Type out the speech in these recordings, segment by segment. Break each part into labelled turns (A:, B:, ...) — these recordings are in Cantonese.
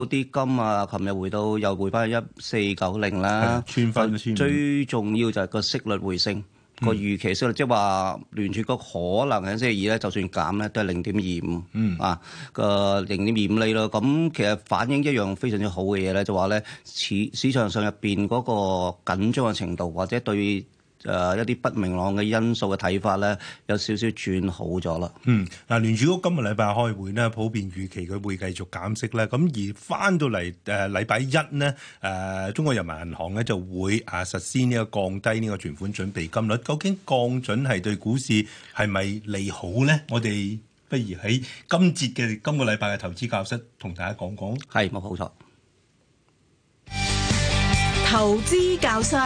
A: 啲金啊，琴日又回翻1490啦，
B: 穿翻
A: 最重要就係個息率回升。個預期息率，即係話聯儲局可能喺星期二咧，就算減咧，都係0.25，啊個0.25厘咯。咁其實反映一樣非常之好嘅嘢咧，就話咧市場上入邊嗰個緊張嘅程度，或者對一啲不明朗嘅因素嘅睇法咧，有少少轉好咗啦。
B: 嗱，聯儲局今個禮拜開會咧，普遍預期佢會繼續減息咧。咁而翻到嚟禮拜一呢，中國人民銀行咧就會實施呢個降低呢個存款準備金率。究竟降準係對股市係咪利好咧？我哋不如喺今個禮拜嘅投資教室同大家講講。
A: 係冇錯。
C: 投資教室。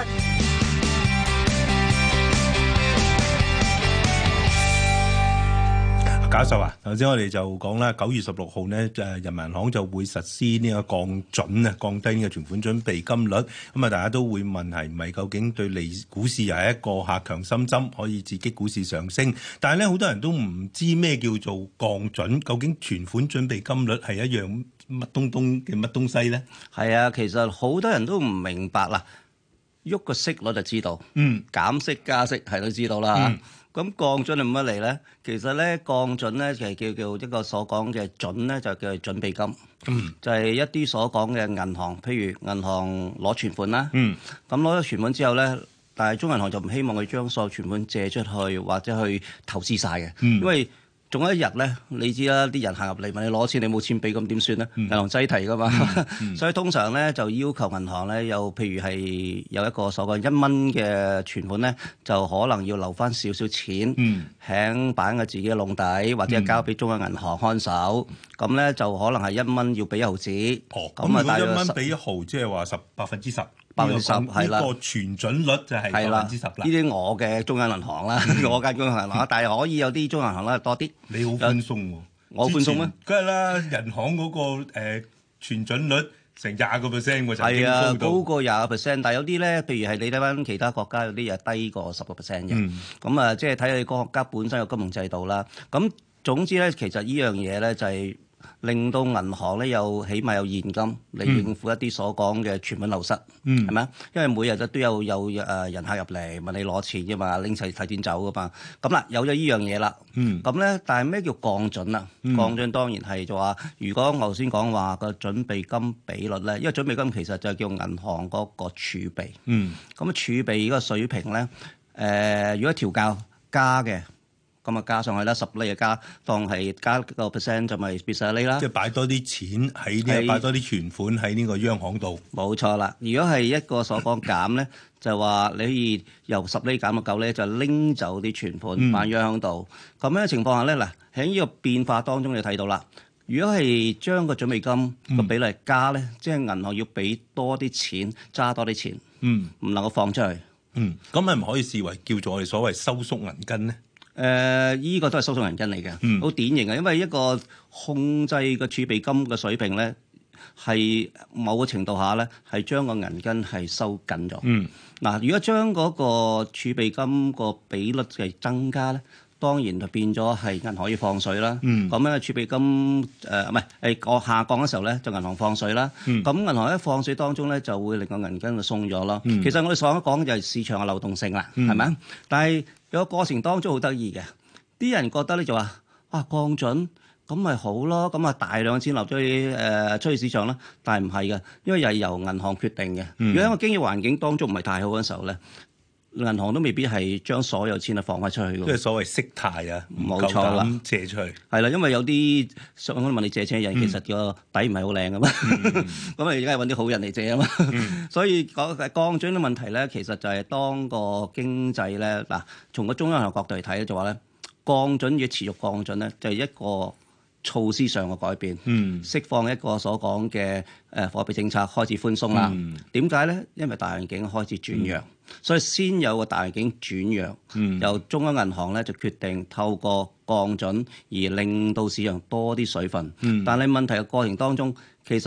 B: 教授啊，頭先我哋就講啦，9月16號呢，人民銀行就會實施呢個降準啊，降低呢個存款準備金率。咁啊，大家都會問係唔係究竟對股市又係一個下強心針，可以刺激股市上升？但係咧，好多人都唔知咩叫做降準，究竟存款準備金率係一樣乜東西咧？係
A: 啊，其實好多人都唔明白啦，喐個息率就知道，減息加息係都知道啦。咁降準係乜嚟咧？其實咧，降準咧就係叫一個所講嘅準咧，就叫準備金。就係一啲所講嘅銀行，譬如銀行攞存款啦。咁攞咗存款之後咧，但係中銀行就唔希望佢將所有存款借出去或者去投資晒嘅，因為總有一日咧，你知啦，啲人行入嚟問你攞錢，你冇錢俾，咁點算咧？銀行擠提噶嘛，所以通常咧就要求銀行咧，有譬如係有一個所謂1蚊嘅存款咧，就可能要留翻少少錢，喺擺喺自己嘅籠底，或者交俾中央銀行看守。咁咧就可能係1蚊要俾1毫子。
B: 咁啊，大約1蚊俾1毫，即係話10%。
A: 10%係啦，
B: 呢個存準率就係10%啦。呢
A: 啲我嘅中央銀行啦，我間中央銀行，但係可以有啲中央銀行咧多啲。
B: 你好寬鬆喎，
A: 我寬鬆咩？
B: 梗係啦，銀行嗰個存準率成20%喎，
A: 係啊，高過20%，但係有啲咧，譬如係你睇翻其他國家有啲又低過10%嘅。咁啊，即係睇你個國家本身嘅金融制度啦。咁總之咧，其實呢樣嘢咧就係令到銀行咧起碼有現金嚟應付一啲所講嘅存款流失，係咪啊？因為每日都有人客入嚟問你攞錢啫嘛，拎齊提錢走噶嘛。咁啦，有咗呢樣嘢啦。咁咧，但係咩叫降準啊？降準當然係就話，如果我頭先講話個準備金比率咧，因為準備金其實就係叫銀行嗰個儲備。咁儲備呢個水平咧，如果調校加嘅。咁啊加上去啦，10厘就加，當係加個 percent 就咪變10厘啦。
B: 即係擺多啲錢喺擺多啲存款喺呢個央行度。冇
A: 錯啦，如果係一個所講減咧，就話你可以由10厘減到9厘，就拎走啲存款擺央行度。咁樣嘅情況下咧，嗱喺呢個變化當中你睇到啦。如果係將個準備金個比例加咧，即係銀行要俾多啲錢，揸多啲錢，唔能夠放出去。
B: 咁係唔可以視為叫做我哋所謂收縮銀根咧？
A: 依個都係收縮銀根嚟嘅，好典型嘅，因為一個控制個儲備金嘅水平咧，係某個程度下咧，係將個銀根係收緊咗。嗱，如果將嗰個儲備金個比率係增加咧，當然就變咗係銀行要放水啦。咁咧儲備金唔係下降嘅時候咧，就銀行放水啦。咁銀行一放水當中咧，就會令個銀根就鬆咗咯。其實我哋所講嘅就係市場嘅流動性啦，係咪啊？但係有個過程當中好得意嘅，啲人覺得咧就話降準咁咪好咯，咁啊大量錢流咗去出去市場啦。但係唔係嘅，因為又係由銀行決定嘅。如果喺個經濟環境當中唔係太好嘅時候咧，銀行都未必係將所有錢放翻出去嘅。
B: 即係所謂息貸啊，
A: 冇錯啦，
B: 借出去
A: 係啦，因為有啲想問你借錢嘅人，其實個底唔係好靚噶嘛，咁啊而家係揾啲好人嚟借啊嘛。所以講降準嘅問題咧，其實就係當個經濟咧嗱，從個中央銀行角度嚟睇咧，就話咧降準要持續降準咧，就係一個措施上嘅改變，釋放一個所講嘅貨幣政策開始寬鬆啦。點解咧？因為大環境開始轉弱，所以先有個大環境轉弱，由中央銀行咧就決定透過降準而令到市場多啲水分。但係問題嘅過程當中，其實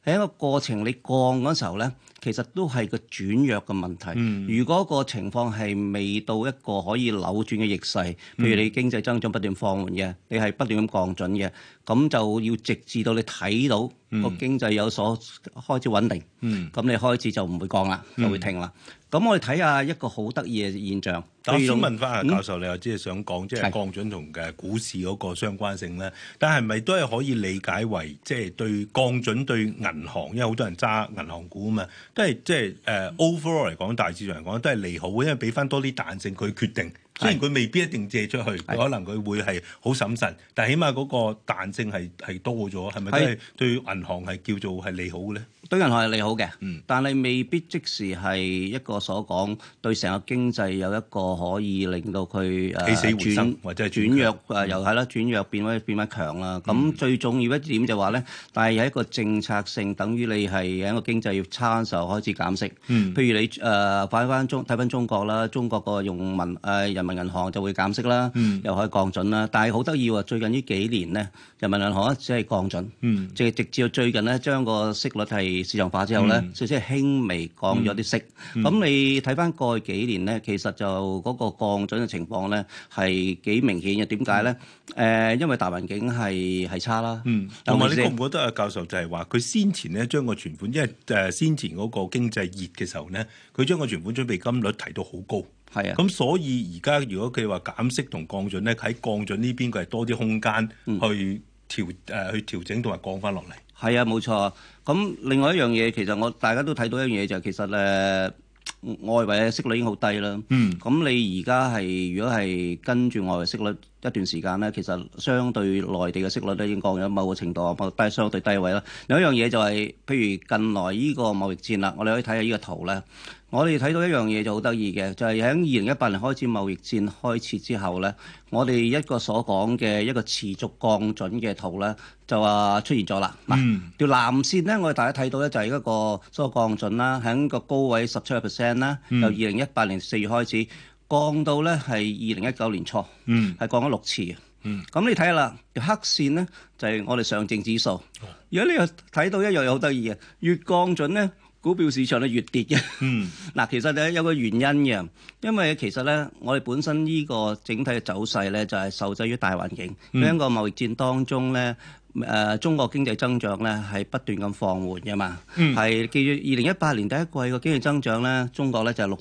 A: 喺一個過程你降嗰時候咧，其實都係個轉弱嘅問題。如果個情況係未到一個可以扭轉嘅逆勢，譬如你經濟增長不斷放緩嘅，你係不斷咁降準嘅，咁就要直至到你睇到個經濟有所開始穩定，咁你開始就唔會降啦，就會停啦。咁我哋睇下一個好得意嘅現象。
B: 但我想問翻阿教授，你又即係想講即係降準同嘅股市嗰個相關性咧？但係咪都係可以理解為即係對降準對銀行，因為好多人揸銀行股啊嘛，都係即係overall 嚟講，大市場嚟講都係利好，因為俾翻多啲彈性佢決定。雖然佢未必一定借出去，可能佢會係好審慎，但係起碼嗰個彈性係多咗，係咪都係對銀行係叫做係利好嘅咧？
A: 對銀行係利好嘅，但係未必即時係一個所講對成個經濟有一個可以令到佢
B: 起死回生或者係
A: 轉弱又係啦，轉弱變翻強啦。咁最重要一點就話咧，但係有一個政策性，等於你係喺一個經濟要差嘅時候開始減息。譬如你睇翻中國啦，中國個人民銀行就會減息啦，又可以降準啦。但係好得意喎，最近呢幾年咧，人民銀行只係降準，即係直至到最近咧將個息率係市場化之後咧，即係輕微降咗啲息。咁你睇翻過去幾年咧，其實就嗰個降準嘅情況咧係幾明顯嘅。點解咧？因為大環境係差啦。
B: 同埋你覺唔覺得啊，教授就係話佢先前咧將個存款，因為先前嗰個經濟熱嘅時候咧，佢將個存款準備金率提到好高。
A: 係啊，
B: 咁所以而家如果佢話減息同降準咧，喺降準呢邊佢係多啲空間去調整同埋降翻落嚟。
A: 係啊，冇錯。咁另外一樣嘢，其實大家都睇到一樣嘢就係其實外圍嘅息率已經好低啦。咁你而家係如果係跟住外圍息率一段時間咧，其實相對內地嘅息率咧已經降咗某個程度，低相對低位啦。另一樣嘢就係，譬如近來呢個貿易戰啦，我哋可以睇下呢個圖咧。我哋睇到一樣嘢就好得意嘅，就係喺2018年開始貿易戰開始之後咧，我哋一個所講嘅一個持續降準嘅圖咧，就話出現咗啦。嗱，條藍線咧，我哋大家睇到咧就係一個所謂降準啦，喺個高位17%啦，由2018年4月開始降到咧係2019年初，係降咗6次嘅。咁你睇下啦，條黑線咧就係我哋上證指數。如果你又睇到一樣嘢好得意嘅，越降準咧，股票市場咧越跌嘅。嗱，其實咧有個原因嘅，因為其實咧我哋本身呢個整體嘅走勢咧就係受制於大環境。喺個貿易戰當中咧，中國經濟增長咧係不斷咁放緩嘅嘛。係記住2018年第一季個經濟增長咧，中國咧就係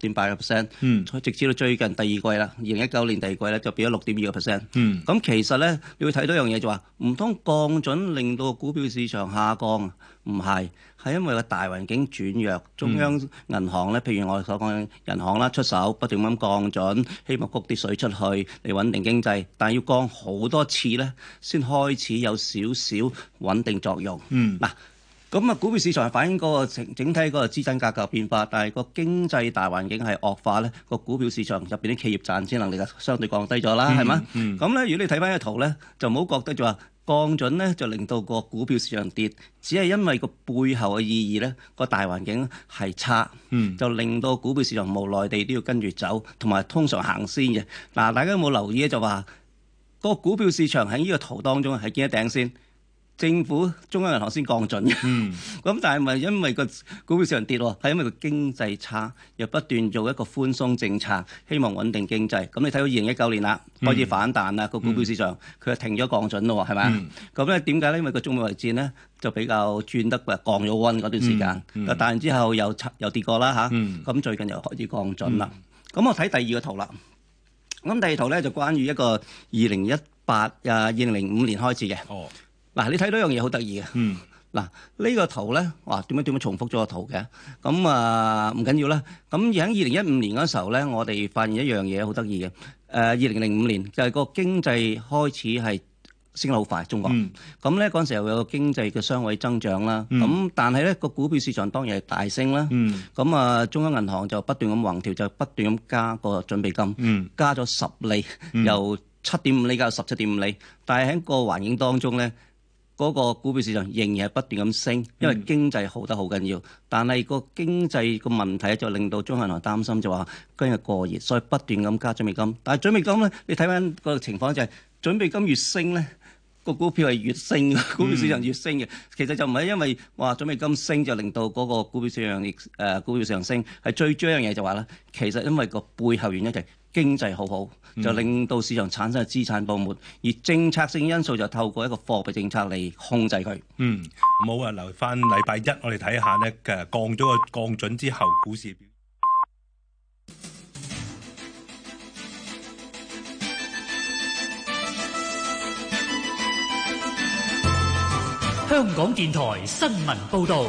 A: 6.8%，直至到最近第二季啦，2019年第二季咧就變咗6.2%。咁其實咧你會睇到一樣嘢就話，唔通降準令到股票市場下降？唔係，係因為個大環境轉弱，中央銀行咧，譬如我哋所講嘅銀行啦，出手不斷咁降準，希望谷啲水出去嚟穩定經濟，但係要降好多次咧，先開始有少少穩定作用。嗱，咁啊，股票市場係反映嗰個整體嗰個資產價格變化，但係個經濟大環境係惡化咧，個股票市場入邊啲企業賺錢能力就相對降低咗啦，係嘛？咁咧，如果你睇翻個圖咧，就唔好覺得就話降準咧就令到個股票市場跌，只係因為個背後嘅意義咧，個大環境係差，就令到股票市場無奈地都要跟住走，同埋通常行先嘅。嗱，大家有冇留意咧？就話個股票市場喺呢個圖當中係見一頂先。政府中央銀行先降準嘅，咁但係咪因為個股票市場跌喎？係因為個經濟差，又不斷做一個寬鬆政策，希望穩定經濟。咁你睇到2019年啦，開始反彈啦，個股票市場佢就停咗降準咯，係咪？咁咧點解咧？因為個中美貿易戰咧就比較轉得降咗溫嗰段時間，但係之後又跌過啦嚇，咁最近又開始降準啦。咁我睇第二個圖啦。咁第二圖咧就關於一個2005年開始嘅。嗱，你睇到一樣嘢好得意嘅。嗱，呢個圖咧，哇，點樣重複咗個圖嘅？咁唔緊要啦。咁而喺2015年嗰時候咧，我哋發現一樣嘢好得意嘅。2005年就係個經濟開始係升得好快，中國。咁咧嗰陣時候有個經濟嘅雙位增長啦。咁但係咧個股票市場當然係大升啦。咁中央銀行就不斷咁橫調，就不斷咁加個準備金，加咗10厘，由7.5厘加到17.5厘。但係喺個環境當中咧，嗰個股票市場仍然係不斷咁升，因為經濟好得好緊要。但係個經濟個問題就令到中央銀行擔心，就話今日過熱，所以不斷咁加準備金。但係準備金咧，你睇翻個情況就係準備金越升咧， 個股票係越升，股票市場越升嘅。其實就唔係因為話準備金升就令到嗰個股票市場股票上升，係最主要一樣嘢就話咧，其實因為個背後原因就係經濟好好，就令到市場產生嘅資產泡沫，而政策性因素就透過一個貨幣政策嚟控制佢。
B: 好啊，留翻禮拜一我哋睇下呢，降咗個降準之後股市。
D: 香港電台新聞報導。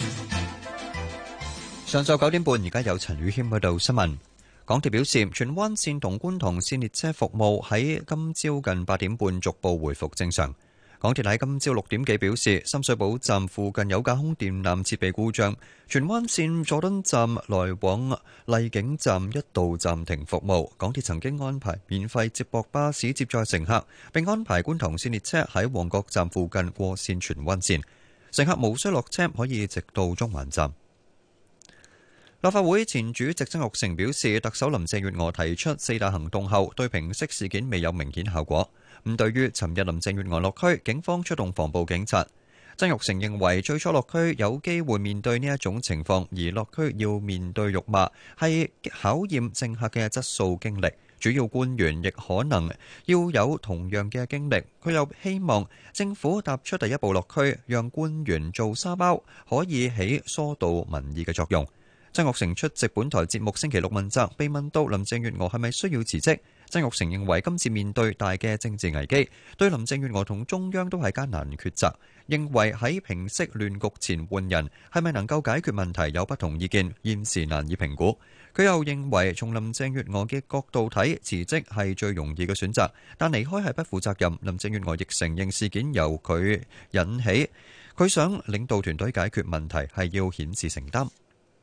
E: 上晝9點半，而家有陳宇謙喺度新聞。港鐵表示，荃灣線同觀塘線列車服務喺今朝近8點半逐步回復正常。港鐵喺今朝6點幾表示，深水埗站附近有架空電纜設備故障，荃灣線佐敦站來往荔景站一度暫停服務。港鐵曾經安排免費接駁巴士接載乘客，並安排觀塘線列車喺旺角站附近過線荃灣線，乘客無需落車，可以直到中環站。立法會前主席曾鈺成表示，特首林鄭月娥提出4大行動後，對平息事件未有明顯效果。對於尋日林鄭月娥落區，警方出動防暴警察。曾鈺成認為最初落區有機會面對呢一種情況，而落區要面對辱罵係考驗政客嘅質素經歷，主要官員亦可能要有同樣嘅經歷。佢又希望政府踏出第一步落區，讓官員做沙包，可以起疏導民意嘅作用。曾鈺成出席本台節目星期六問責，被問到林鄭月娥係咪需要辭職，曾鈺成認為今次面對大嘅政治危機，對林鄭月娥同中央都係艱難抉擇，認為喺平息亂局前換人係咪能夠解決問題有不同意見，現時難以評估。佢又認為從林鄭月娥嘅角度睇，辭職係最容易嘅選擇，但離開係不負責任。林鄭月娥亦承認事件由佢引起，佢想領導團隊解決問題係要顯示承擔。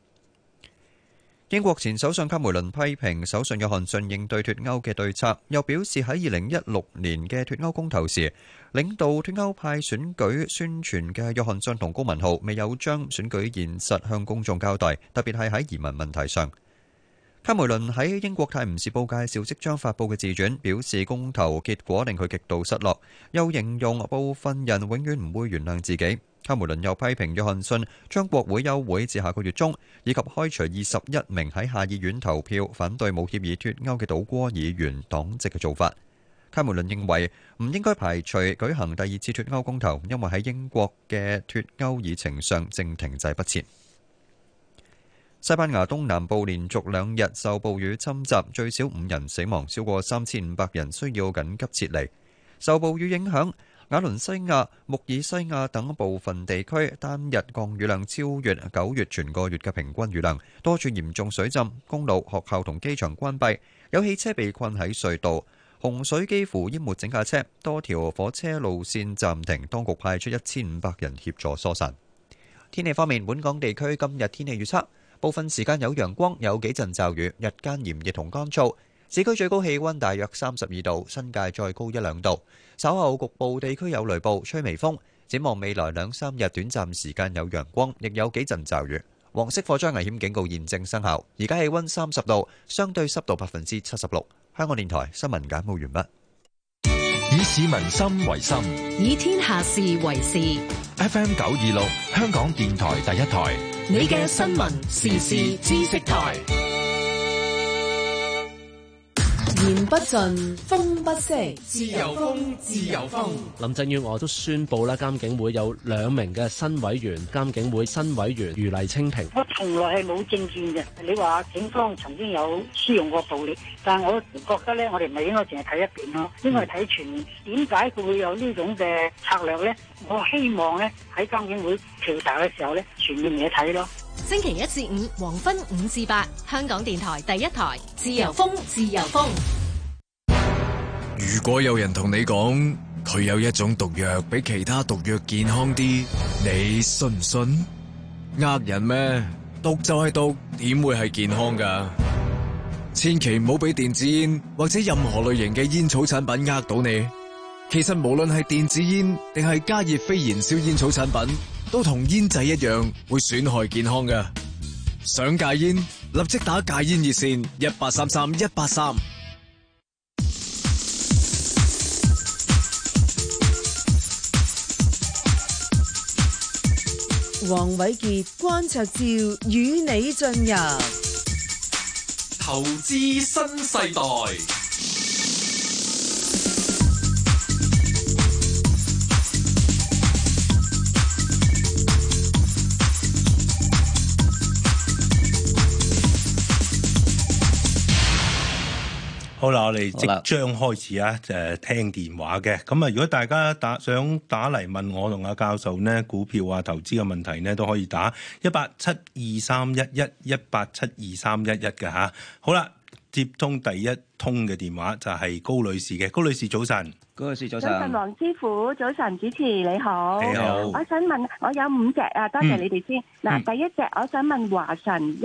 E: 英國前首相卡梅倫批評首相約翰遜應對脫歐嘅對策，又表示喺2016年嘅脫歐公投時，領導脫歐派選舉宣傳嘅約翰遜同高文浩未有將選舉現實向公眾交代，特別係喺移民問題上。卡梅倫喺英國《泰晤士報》介紹即將發布嘅自傳，表示公投結果令佢極度失落，又形容部分人永遠唔會原諒自己。卡梅倫又批評約翰遜將國會休會至下個月中，以及開除21名喺下議院投票反對無協議脫歐嘅倒戈議員黨籍嘅做法。卡梅倫認為唔應該排除舉行第二次脫歐公投，因為喺英國嘅脫歐議程上正停滯不前。西班牙東南部連續2日受暴雨侵襲，最少5人死亡，超過3500人需要緊急撤離。受暴雨影響，瓦倫西亞、穆爾西亞等部分地區單日降雨量超越9月全個月嘅平均雨量，多處嚴重水浸，公路、學校同機場關閉，有汽車被困喺隧道，洪水幾乎淹沒整架車，多條火車路線暫停，當局派出1500人協助疏散。天氣方面，本港地區今日天氣預測，部分時間有陽光，有幾陣驟雨，日間炎熱同乾燥。市區最高氣溫大約32度，新界再高1-2度。稍後局部地區有雷暴，吹微風。展望未來2-3日，短暫時間有陽光，亦有幾陣驟雨。黃色火災危險警告現正生效。而家氣溫30度，相對濕度76%。香港電台新聞簡報完畢。
F: 以市民心為心，
C: 以天下事為事。
F: FM 926，香港電台第一台。
C: 你嘅新聞時事知識台。言不盡，風不息，
G: 自由風，自由風。
H: 林鄭月娥都宣布啦，監警會有2名嘅新委員，監警會新委員余黎青萍。
I: 我從來係冇政見嘅。你話警方曾經有使用過暴力，但係我覺得咧，我哋唔係應該淨係睇一邊咯，應該係睇全面。點解佢會有呢種嘅策略咧？我希望咧喺監警會調查嘅時候咧，全面嘢睇咯。
C: 星期1至5黃昏5至8，香港電台第一台，自由風，自由風。
F: 如果有人同你講佢有一種毒藥比其他毒藥健康啲，你信唔信？呃人咩？毒就係毒，點會係健康噶？千祈唔好俾電子煙或者任何類型嘅煙草產品呃到你。其實無論係電子煙定係加熱非燃燒煙草產品，都同煙仔一樣會損害健康㗎。想戒煙，立即打戒煙熱線1833-183。
J: 黃偉傑、關焯照與你進入
G: 投資新世代。
B: 好啦，我哋即將開始啊！聽電話嘅咁啊，如果大家想打嚟問我同阿教授呢股票啊投資嘅問題呢，都可以打1872311，1872311嘅嚇。好啦，接通第一通嘅電話就係高女士嘅。高女士早晨。
A: 高女士早晨。
K: 早晨，黃師傅，早晨，主持你好。
B: 你好。
K: 我想問，我有5隻啊，多謝你哋先。嗱，第一隻我想問華晨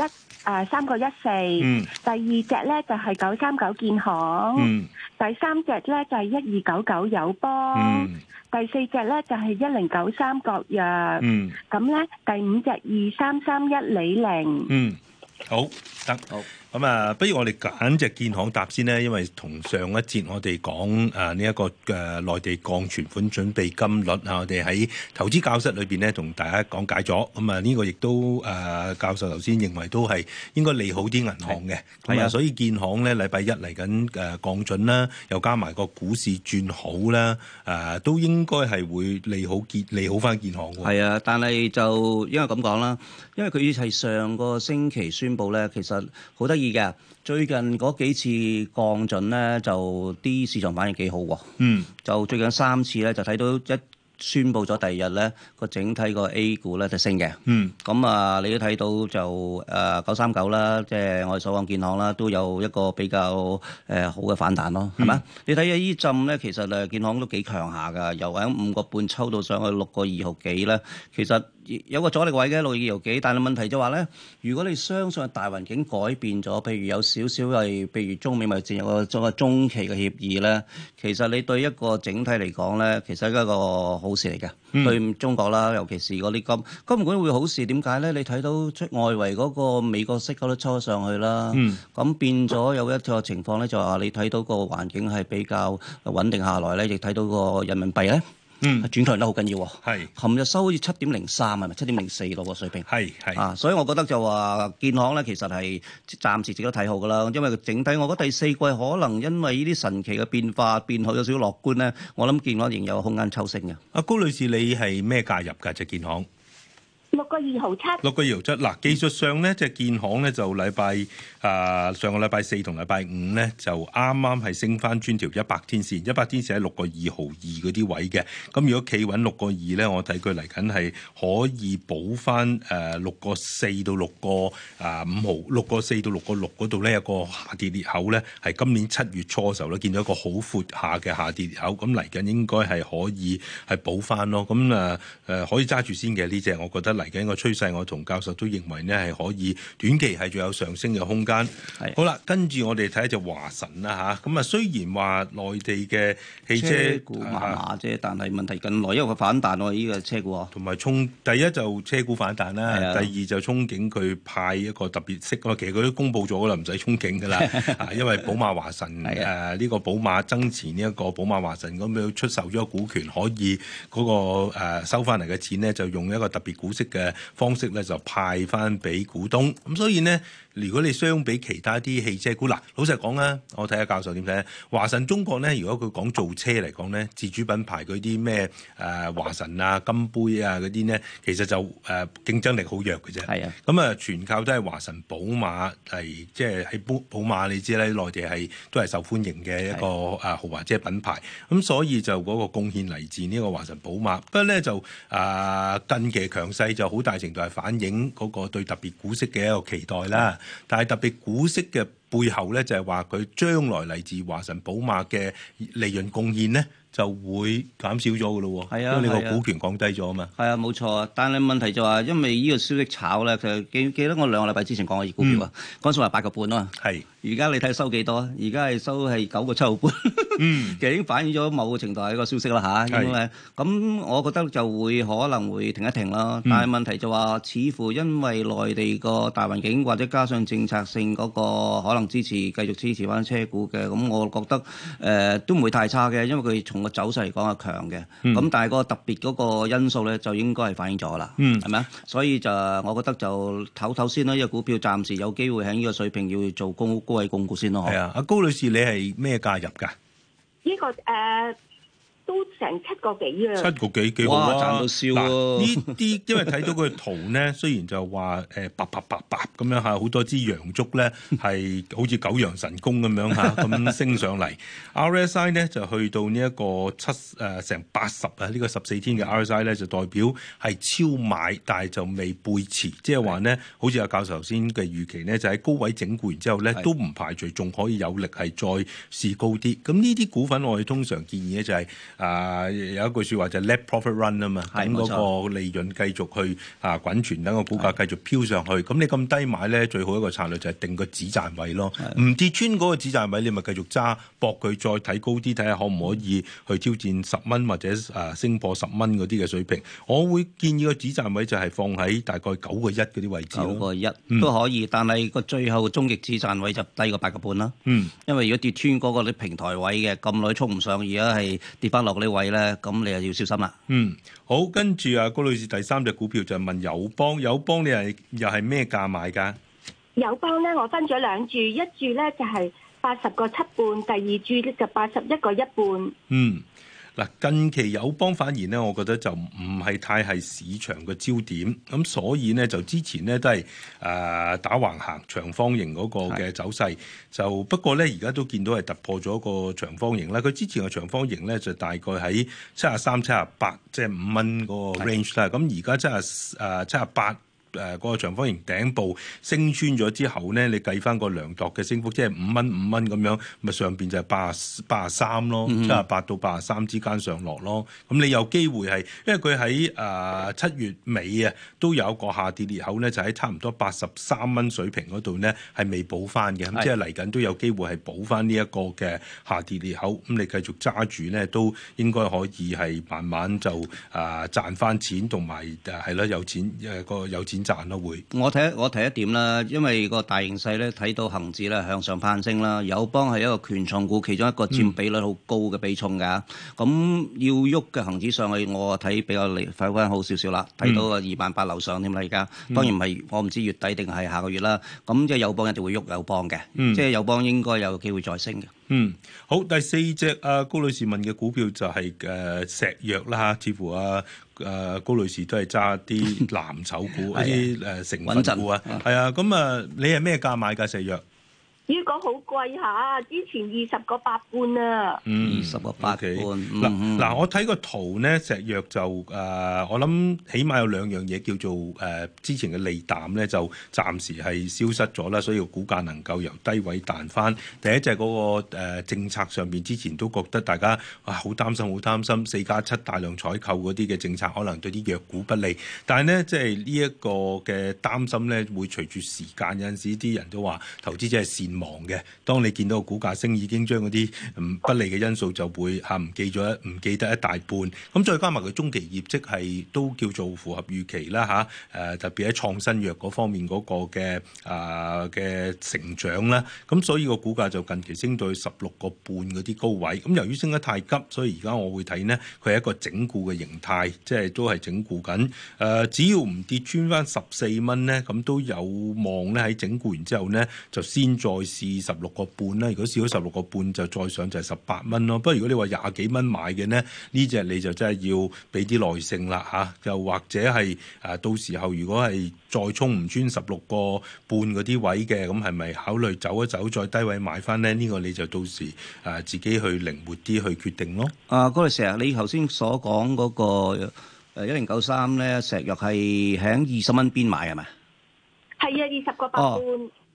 K: 3個14，第二隻咧就係939建行，第三隻咧就係1299友邦，第四隻咧就係1093國藥，咁咧第五隻2331李寧。
B: 好得好。咁啊，不如我哋揀隻建行答先呢，因為同上一節我哋講呢一個內地降存款準備金率啊，我哋喺投資教室裏邊呢同大家講解咗。咁啊，呢個亦都教授頭先認為都係應該利好啲銀行嘅。係啊，所以建行呢禮拜一嚟緊降準啦，又加埋個股市轉好啦，都應該係會利好翻建行喎。
A: 係啊，但係就因為咁講啦，因為佢係上個星期宣布咧，其實好得意嘅，最近嗰幾次降準咧，就啲市場反應幾好喎。就最近3次咧，就睇到一宣布咗第二日咧，個整體個 A 股咧就升嘅。咁啊，你都睇到就939啦，即係我哋所講建行啦，都有一個比較好嘅反彈咯，係咪？你睇下依陣咧，其實建行都幾強下㗎，由喺5個半抽到上去6個2毫幾咧，其實有個阻力位嘅6個2毫幾，但係問題就話咧，如果你相信大環境改變咗，譬如有少少係，譬如中美貿易戰有個中期嘅協議咧，其實你對一個整體嚟講咧，其實係一個好事嚟嘅。對中國啦，尤其是嗰啲金管會好事，點解咧？你睇到出外圍嗰個美國息嗰都抽咗上去啦，咁變咗有一個情況咧，就話你睇到個環境係比較穩定下來咧，亦睇到個人民幣咧。轉強得好緊要喎，係，琴日收好似7.03係咪7.04咯個水平，係所以我覺得就話建行咧其實係暫時值得睇好噶啦，因為整體我覺得第四季可能因為呢啲神奇嘅變化變好有少少樂觀咧，我諗建行仍有空間抽升嘅。
B: 阿高女士，你係咩價入㗎？隻建行
K: 6個2毫7，
B: 嗱，技術上咧，隻建行咧就上個禮拜4同禮拜5咧就啱啱係升翻穿條100天線，100天線喺6個2毫2嗰啲位嘅。咁如果企穩6個2咧，我睇佢嚟緊係可以補翻6個4到6個5毫，6個4到6個6嗰度咧有個下跌裂口咧，係今年7月初嘅時候咧見到一個好闊下嘅下跌裂口，咁嚟緊應該係可以係補翻咯。咁可以揸住先嘅呢隻，我覺得嚟緊個趨勢，我同教授都認為呢係可以短期係仲有上升嘅空間。好啦，跟住我哋睇下隻華晨啦嚇。咁啊，雖然話內地嘅汽車
A: 股麻麻啫，但係問題近來因為佢反彈喎，呢個車股
B: 同埋第一就車股反彈啦，第二就憧憬佢派一個特別息啊。其實佢都公佈咗㗎啦，唔使憧憬㗎啦。因為寶馬華晨呢個寶馬增持呢一個寶馬華晨咁樣出售咗個股權，可以嗰個收翻嚟嘅錢呢，就用一個特別股息嘅方式咧就派翻俾股東，咁所以呢，如果你相比其他啲汽車股，嗱，老實講啦，我睇下教授點睇。華晨中國呢，如果佢講造車嚟講呢，自主品牌嗰啲咩華晨啊、金杯啊嗰啲呢，其實就競爭力好弱嘅啫。係啊，咁啊全靠都係華晨寶馬係即係喺寶馬，你知咧內地係都係受歡迎嘅一個豪華車品牌，咁所以就嗰個貢獻嚟自呢個華晨寶馬。不過咧就近期強勢就好大程度係反映嗰個對特別股息嘅一個期待啦。但係特別股息嘅背後咧，就係話佢將來嚟自華晨寶馬嘅利潤貢獻咧，就會減少咗嘅咯。係啊，因為你個股權降低咗啊嘛。係啊，冇錯啊。但係問題就話，因為呢個消息炒咧，就記得我2個禮拜之前講嘅股票啊，嗰陣時話8個半啊嘛。係。而家你睇收幾多啊？而家係收係9個7毫半。
A: 其實已經反映咗某個程度係一個消息啦嚇。因為咁，我覺得就會可能會停一停啦。但係問題就話，似乎因為內地個大環境或者加上政策性嗰個可能支持繼續支持翻車股嘅，咁我覺得都唔會太差嘅，因為佢從個走勢嚟講係強嘅。咁但係個特別嗰個因素咧，就應該係反映咗啦，係咪啊？所以就我覺得就唞先啦，呢個股票暫時有機會喺呢個水平要做高位供股先咯。
B: 係啊，阿高女士，你係咩價入㗎？
K: 呢個都成7個幾啊！7
B: 個幾幾好啊！
A: 賺到笑喎！
B: 呢啲因為睇到佢圖咧，雖然就話白咁樣嚇，好多支陽燭咧係好似九陽神功咁樣嚇咁升上嚟。RSI 咧就去到呢一個成80啊，呢個14天嘅 RSI 咧就代表係超買，但係就未背馳，即係話咧，好似阿教授頭先嘅預期咧，就喺高位整固完之後咧，都唔排除仲可以有力係再試高啲。咁呢啲股份我哋通常建議咧就係、有一句説話就係 let profit run 啊嘛，等嗰個利潤繼續去滾存，等個股價繼續飄上去。咁你咁低買咧，最好一個策略就係定個止賺位咯。唔跌穿嗰個止賺位，你咪繼續揸，搏佢再睇高啲，睇下可唔可以去挑戰10蚊或者升破10蚊嗰啲嘅水平。我會建議個止賺位就係放喺大概9個1嗰啲位置咯。9個1都可以，但係個最後終極止賺位就低過8個半啦。因為如果跌穿嗰個啲平台位嘅咁耐衝唔上，而家係跌翻落呢位咧，咁你又要小心啦。好，跟住高女士第3隻股票就問友邦，友邦你又係咩價買㗎？
K: 友邦咧，我分咗2注，一注咧就係80個7半，第二注咧就81個1半。
B: 嗱，近期友邦反而咧，我覺得就唔係太係市場嘅焦點，咁所以呢，就之前呢都係打橫行長方形嗰個嘅走勢，就不過咧而家都見到係突破咗個長方形啦。佢之前嘅長方形咧就大概喺73、78，即係5蚊嗰個 range 啦。咁而家78。嗰個長方形頂部升穿咗之後咧，你計翻個量度嘅升幅，即係5蚊咁樣，咪上邊就係83咯，78到83之間上落咯。咁你有機會係，因為佢喺7月尾啊，都有一個下跌裂口咧，就喺差唔多83蚊水平嗰度咧，係未補翻嘅。咁即係嚟緊都有機會係補翻呢一個嘅下跌裂口。咁你繼續揸住咧，都應該可以係慢慢就賺翻錢，同埋係咯有錢有錢賺咯會。我提一點啦，因為個大形勢咧睇到恆指咧向上攀升啦，友邦係一個權重股，其中一個佔比率好高嘅比重㗎。咁要喐嘅恆指上去，我睇比較快翻好少少啦，睇到個28000樓上添啦而家。當然唔係，我唔知月底定係下個月啦。咁即係友邦一定會喐友邦嘅，即係友邦應該有機會再升嘅。好，第4隻高女士問嘅股票就係石藥啦嚇，似乎高女士都係揸啲藍籌股，一啲成分股啊，係啊，咁你係咩價買㗎石藥？
K: 呢個好貴下，之前20個8半啊，20個8半。
B: 嗱，我睇個圖咧，石藥就我諗起碼有2樣嘢叫做之前嘅利淡咧，就暫時係消失咗啦，所以個股價能夠由低位彈翻。第一就係嗰個政策上邊，之前都覺得大家好擔心4+7大量採購嗰啲嘅政策可能對啲藥股不利，但係咧即係呢一個嘅擔心咧，會隨住時間有陣時啲人都話投資者係善忘嘅，當你見到個股價升，已經將嗰啲不利嘅因素就會唔記得一大半。咁再加埋佢中期業績係都叫做符合預期啦嚇。特別喺創新藥嗰方面嗰個嘅成長啦。咁所以個股價就近期升到去16個半嗰啲高位。咁由於升得太急，所以而家我會睇呢，佢係一個整固嘅形態，即係都係整固緊。只要唔跌穿翻14蚊呢，咁都有望咧喺整固完之後呢，就先再試16個半啦。如果試咗16個半，就再上就係18蚊咯。不過如果你話20幾蚊買嘅呢，呢隻你就真係要俾啲耐性啦嚇。又或者係到時候如果係再衝唔穿16個半嗰啲位嘅，咁係咪考慮走一走再低位買翻呢？呢個你就到時自己去靈活啲去決定咯。嗰陣時啊，你頭先所講嗰個1093咧，石藥係喺20蚊邊買係咪？
K: 係啊，20個8半。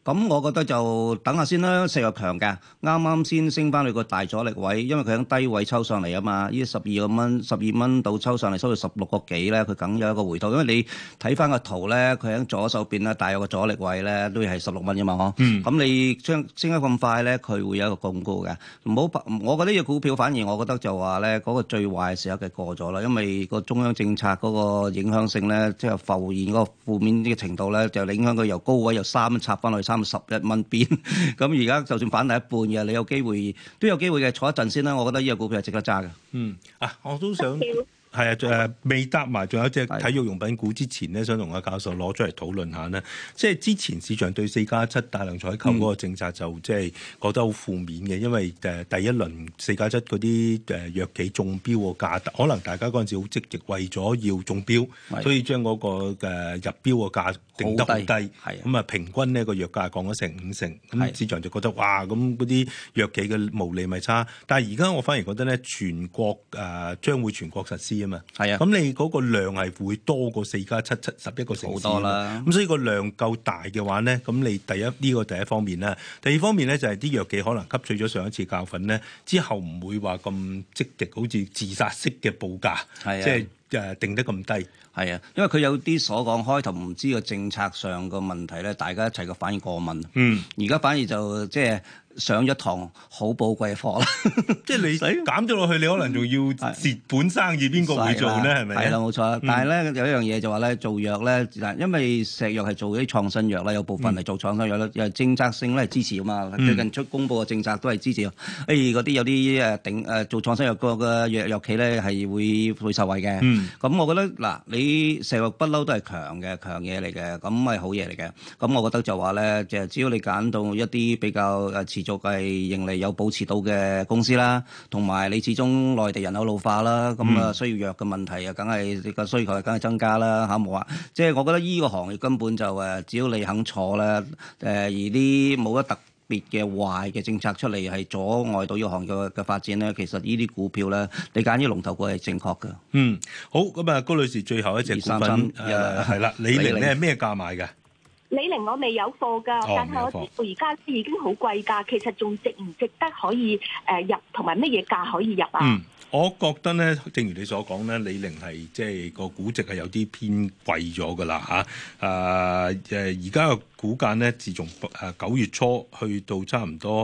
A: 咁我覺得就等下先啦，石藥強嘅，啱啱先升翻去個大阻力位，因為佢喺低位抽上嚟啊嘛，呢12蚊到抽上嚟，收到16個幾咧，佢梗有一個回吐。因為你睇翻個圖咧，佢喺左手邊咧，大約個阻力位咧都係16蚊啫嘛，咁你將升得咁快咧，佢會有一個咁高嘅。唔好，我覺得呢隻股票反而我覺得就話咧，嗰個最壞嘅時候嘅過咗啦，因為個中央政策嗰個影響性咧，即係浮現嗰個負面呢個程度咧，就影響佢由高位由3蚊插翻去11蚊邊。咁而家就算反彈一半嘅，你有機會都有機會嘅，坐一陣先啦。我覺得呢個股票係值得揸嘅。
B: 我都想。係啊，未答埋，仲有一隻體育用品股之前咧，想同阿教授攞出嚟討論下呢。即係之前市場對4+7大量採購嗰個政策就即係覺得好負面嘅，因為第一輪4+7嗰啲藥企中標個價，可能大家嗰陣時好積極，為咗要中標，所以將嗰個入標個價定得好低，咁啊平均呢個藥價降咗成50%，咁市場就覺得哇，咁嗰啲藥企嘅毛利咪差。但係而家我反而覺得咧，全國將會全國實施啊嘛，
A: 係啊，
B: 咁你嗰個量係會多過4+7 11個城市
A: 好多啦。
B: 咁所以個量夠大嘅話咧，咁你呢個第一方面啦。第二方面咧就係啲藥企可能吸取咗上一次教訓咧，之後唔會話咁積極，好似自殺式嘅報價，即係定得咁低。
A: 係啊，因為佢有啲所講開頭唔知個政策上個問題咧，大家一齊個反應過敏。而家反而就即係上咗堂好寶貴嘅課啦。
B: 即係你減咗落去，你可能仲要蝕本生意，邊個會做咧？係咪？
A: 係啦，冇錯。但係咧有一樣嘢就話咧，做藥咧，因為石藥係做啲創新藥啦，有部分係做創新藥啦，又係政策性咧係支持啊嘛。最近公布嘅政策都係支持。嗰啲有啲做創新藥個藥企咧係會受惠嘅。咁我覺得嗱，你石藥不嬲都係強嘢嚟嘅，咁係好嘢嚟嘅。咁我覺得就話咧，就只要你揀到一啲比較持續係盈利有保持到嘅公司啦，同埋你始終內地人口老化啦，咁需要藥嘅問題啊，梗係個需求係梗係增加啦嚇，冇話即係我覺得依個行業根本就只要你肯坐咧，而啲冇得特別嘅壞嘅政策出嚟係阻礙到呢個行業嘅發展咧，其實呢啲股票咧，你揀啲龍頭股係正確嘅。
B: 好，咁啊，高女士最後一隻股份係啦，李寧咧係咩價買嘅？
K: 李寧我未有貨㗎，但係我知道而家已經好貴價，其實仲值唔值得可以入，同埋乜嘢價可以入啊？
B: 我覺得咧，正如你所講咧，李寧係即係個估值係有啲偏貴咗㗎啦嚇。而家個股價咧，自從9月初去到差唔多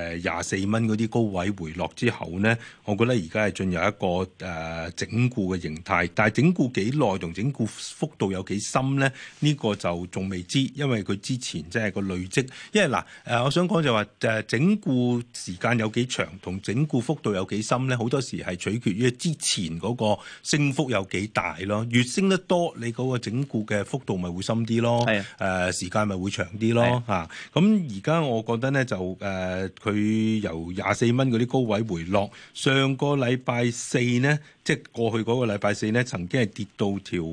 B: 24蚊嗰啲高位回落之後咧，我覺得而家係進入一個整固嘅形態。但係整固幾耐同整固幅度有幾深咧？呢個就仲未知，因為佢之前即係個累積。因為嗱我想講就話整固時間有幾長同整固幅度有幾深咧，好多時係取決於之前嗰個升幅有幾大咯。越升得多，你嗰個整固嘅幅度咪會深啲咯。時間咪會長啲咯嚇。咁而家我覺得咧就佢由24蚊嗰啲高位回落，上個禮拜四呢，即係過去嗰個禮拜四呢，曾經係跌到條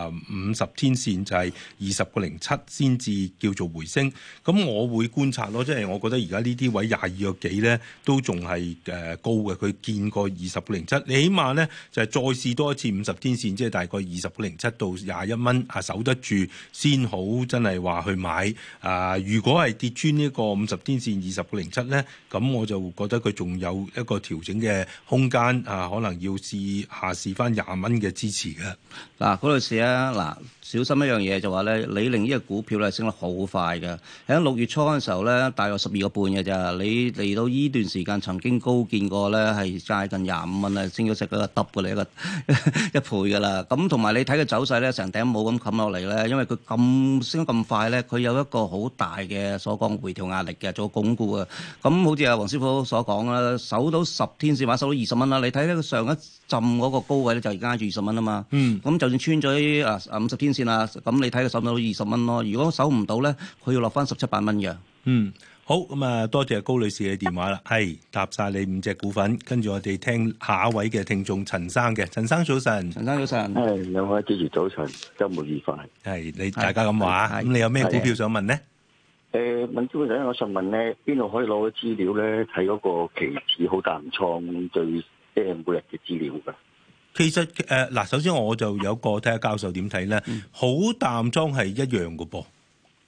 B: 50天線就係20.07先至叫做回升。咁我會觀察咯，即係我覺得而家呢啲位22個幾咧都仲係高嘅。佢見過20.07，你起碼咧就係再試多一次50天線，即係大概20.07到21蚊守得住先好，真係話去買。如果係跌穿呢個50天線20.07咧，咁我就覺得佢仲有一個調整嘅空間，可能要下試翻20蚊嘅支持嘅。
A: 嗰度試啊，小心一樣嘢就話咧，李寧呢個股票咧升得好快嘅，喺6月初嗰陣時候咧，大約12個半嘅咋，你嚟到呢段時間曾經高見過咧係接近25蚊啊，升咗成個double嘅一倍㗎啦。咁同埋你睇佢走勢咧，成頂帽咁冚落嚟咧，因為佢咁升得咁快咧，佢有一個好大嘅所講回調壓力嘅，做鞏固啊。咁好似阿黃師傅所講啦，守到10天線或者守到20蚊啦，你睇咧佢上一浸嗰個高位咧就而家住20蚊啊嘛。咁就算穿咗50天線啦，咁你睇佢守唔到20蚊咯。如果守唔到咧，佢要落翻17、18蚊嘅。
B: 好，咁啊，多謝高女士嘅電話啦，係答晒你5隻股份，跟住我哋聽下一位嘅聽眾陳生嘅。陳生早晨。陳生早晨。
L: 兩位主持早晨，週末愉快。
B: 你大家咁話，咁你有咩股票想問呢？
L: 問朱生，我想問咧，邊度可以攞資料咧？睇嗰個期指好淡倉最每日嘅資料㗎。
B: 其實首先我就有個睇下教授點睇咧，好淡倉係一樣嘅噃。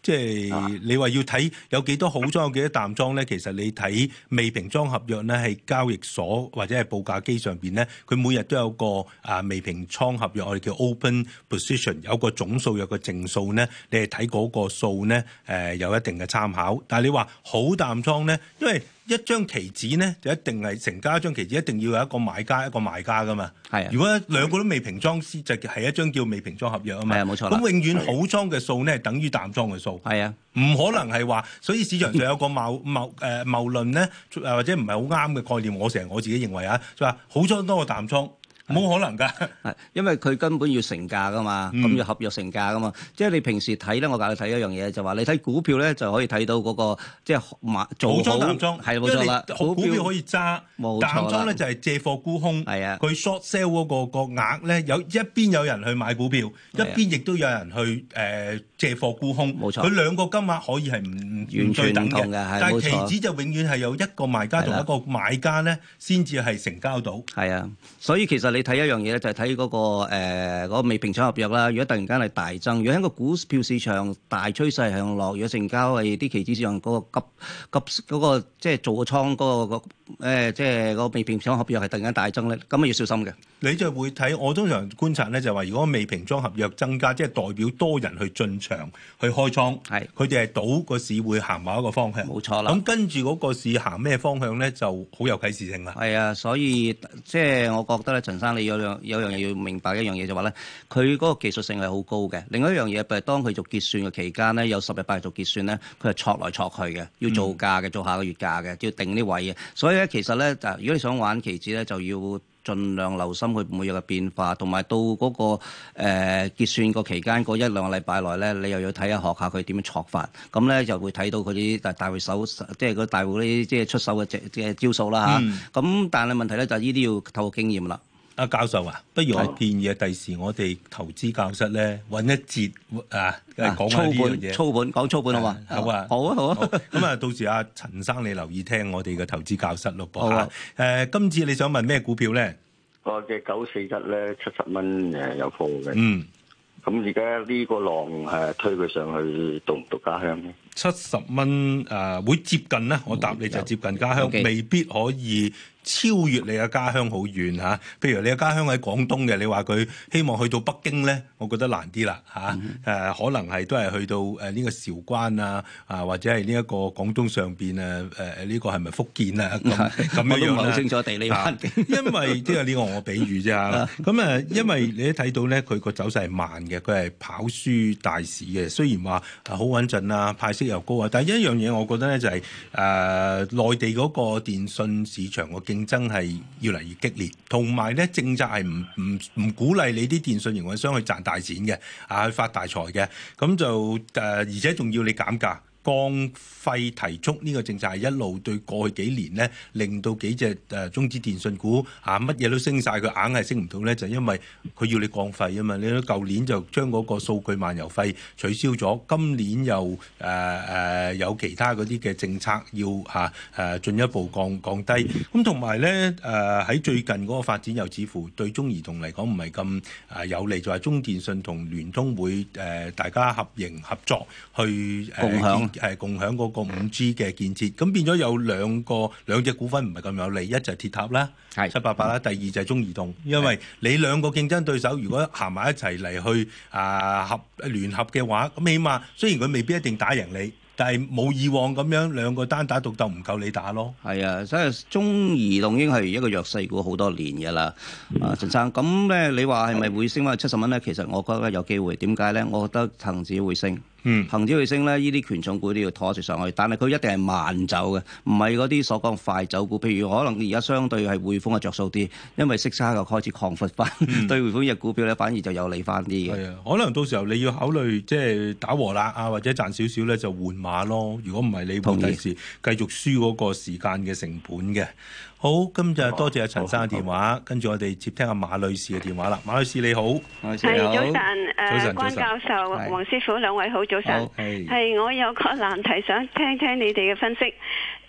B: 即係你話要睇有幾多好裝有幾多淡裝咧，其實你睇未平倉合約咧，係交易所或者係報價機上邊咧，佢每日都有個未平倉合約，我哋叫 open position， 有個總數有個淨數咧，你係睇嗰個數咧有一定嘅參考。但係你話好淡倉咧，因為一張期指咧就一定係成交一張期指，一定要有一個買家一個賣家噶嘛。係，如果兩個都未平倉，就係一張叫未平倉合約啊嘛。係啊，冇錯。咁永遠好倉嘅數咧，等於淡倉嘅數。係啊，唔可能係話，所以市場上有個謬論咧，或者唔係好啱嘅概念。我自己認為啊，就話好倉多過淡倉。冇可能㗎，
A: 因為佢根本要成價㗎嘛，咁要合約成價㗎嘛。即係你平時睇咧，我教你睇一樣嘢，就話你睇股票咧就可以睇到嗰個即係做好
B: 淡倉，
A: 係冇錯啦。
B: 股票可以揸，淡倉咧就係借貨沽空。係啊，佢 short sell 嗰個額咧，有一邊有人去買股票，一邊亦都有人去借貨沽空。冇錯，佢兩個金額可以係唔對等嘅，但係期指就永遠係有一個賣家同一個買家咧，先至係成交到。係
A: 啊，所以其實你睇一樣嘢咧，就係睇嗰個未平倉合約啦。如果突然間係大增，如果喺個股票市場大趨勢向落，如果成交係啲期指市場嗰個急嗰個即係做個倉嗰個即係個未平倉合約係突然間大增咧，咁啊要小心嘅。
B: 你就會睇，我通常觀察咧就係話，如果未平倉合約增加，即係代表多人去進場去開倉，係佢哋係賭個市會行某一個方向。冇錯啦。咁跟住嗰個市行咩方向咧，就好有啟示性啦。係啊，所以即係我覺得咧，陳生你有樣嘢要明白一樣嘢就話咧，佢嗰個技術性係好高嘅。另外一樣嘢，譬如當佢做結算嘅期間咧，有10日8日做結算咧，佢係戳來戳去嘅，要做價嘅，做下個月價嘅，要定啲位嘅。所以咧，其實咧，如果你想玩期指咧，就要盡量留心佢每日嘅變化，同埋到嗰個結算個期間嗰1-2個禮拜內咧，你又要睇下學下佢點樣戳法，咁咧就會睇到佢啲大會手，即係嗰大戶啲即係出手嘅招數啦嚇。咁但係問題咧就係呢啲要透過經驗啦。阿教授啊，不如我建議第時我哋投資教室咧揾一節講下呢樣嘢。
A: 講操盤好嘛？
B: 好啊，好啊，好啊。咁啊，到時阿陳生你留意聽我哋嘅投資教室咯噃。好啊。今次你想問咩股票咧？
L: 我嘅941咧70蚊有貨嘅。嗯。咁而家呢個浪推佢上去到唔到家鄉咧
B: ？70蚊會接近咧，我答你就接近家鄉，未必可以超越你嘅家鄉好遠嚇。譬如你嘅家鄉喺廣東嘅，你話佢希望去到北京咧，我覺得難啲啦嚇。可能係都係去到呢個韶關啊，或者係呢一個廣東上邊呢個係咪福建啊咁樣樣咧？我都唔係好清楚地理環境，因為即係呢個我比喻啫嚇。咁因為你都睇到咧，佢個走勢係慢嘅，佢係跑輸大市嘅。雖然話好穩陣啊，派息又高啊，但係一樣嘢我覺得咧就係內地嗰個電信市場個競爭係越嚟越激烈，同埋咧政策係唔鼓勵你啲電信營運商去賺大錢嘅，去發大財嘅，咁就而且仲要你減價。降費提速呢個政策係一路對過去幾年咧，令到幾隻中資電信股乜嘢都升晒，佢硬係升唔到咧，就因為佢要你降費啊嘛。你睇舊年就將嗰個數據漫遊費取消咗，今年又有其他嗰啲嘅政策要進一步降低。咁同埋咧喺最近嗰個發展又似乎對中移動嚟講唔係咁有利，就係中電信同聯通會大家合營合作去共享嗰個5G 嘅建設，咁變咗有兩隻股份唔係咁有利，一就係鐵塔啦，788啦，第二就係中移動，因為你兩個競爭對手如果行埋一齊嚟去聯合嘅話，咁起碼雖然佢未必一定打贏你，但係冇以往咁樣兩個單打獨鬥唔夠你打咯。係啊，所以中移動已經係一個弱勢股好多年㗎啦。陳生，咁咧你話係咪會升翻70蚊咧？其實我覺得有機會。點解咧？我覺得恒指會升。恒指會升咧，呢啲權重股都要拖住上去，但係佢一定係慢走嘅，唔係嗰啲所講快走股。譬如可能而家相對係匯豐嘅着數啲，因為息差又開始擴闊翻，對匯豐嘅股票咧反而就有利翻啲嘅。係啊，可能到時候你要考慮即係打和啦或者賺少少咧就換馬咯。如果唔係，你會第時繼續輸嗰個時間嘅成本嘅。好，今日多謝阿陳生嘅電話，跟住我哋接聽阿馬女士嘅電話啦。馬女士你好，
M: 係早晨，關教授、黃師傅兩位好，早晨。係我有個難題想聽聽你哋嘅分析。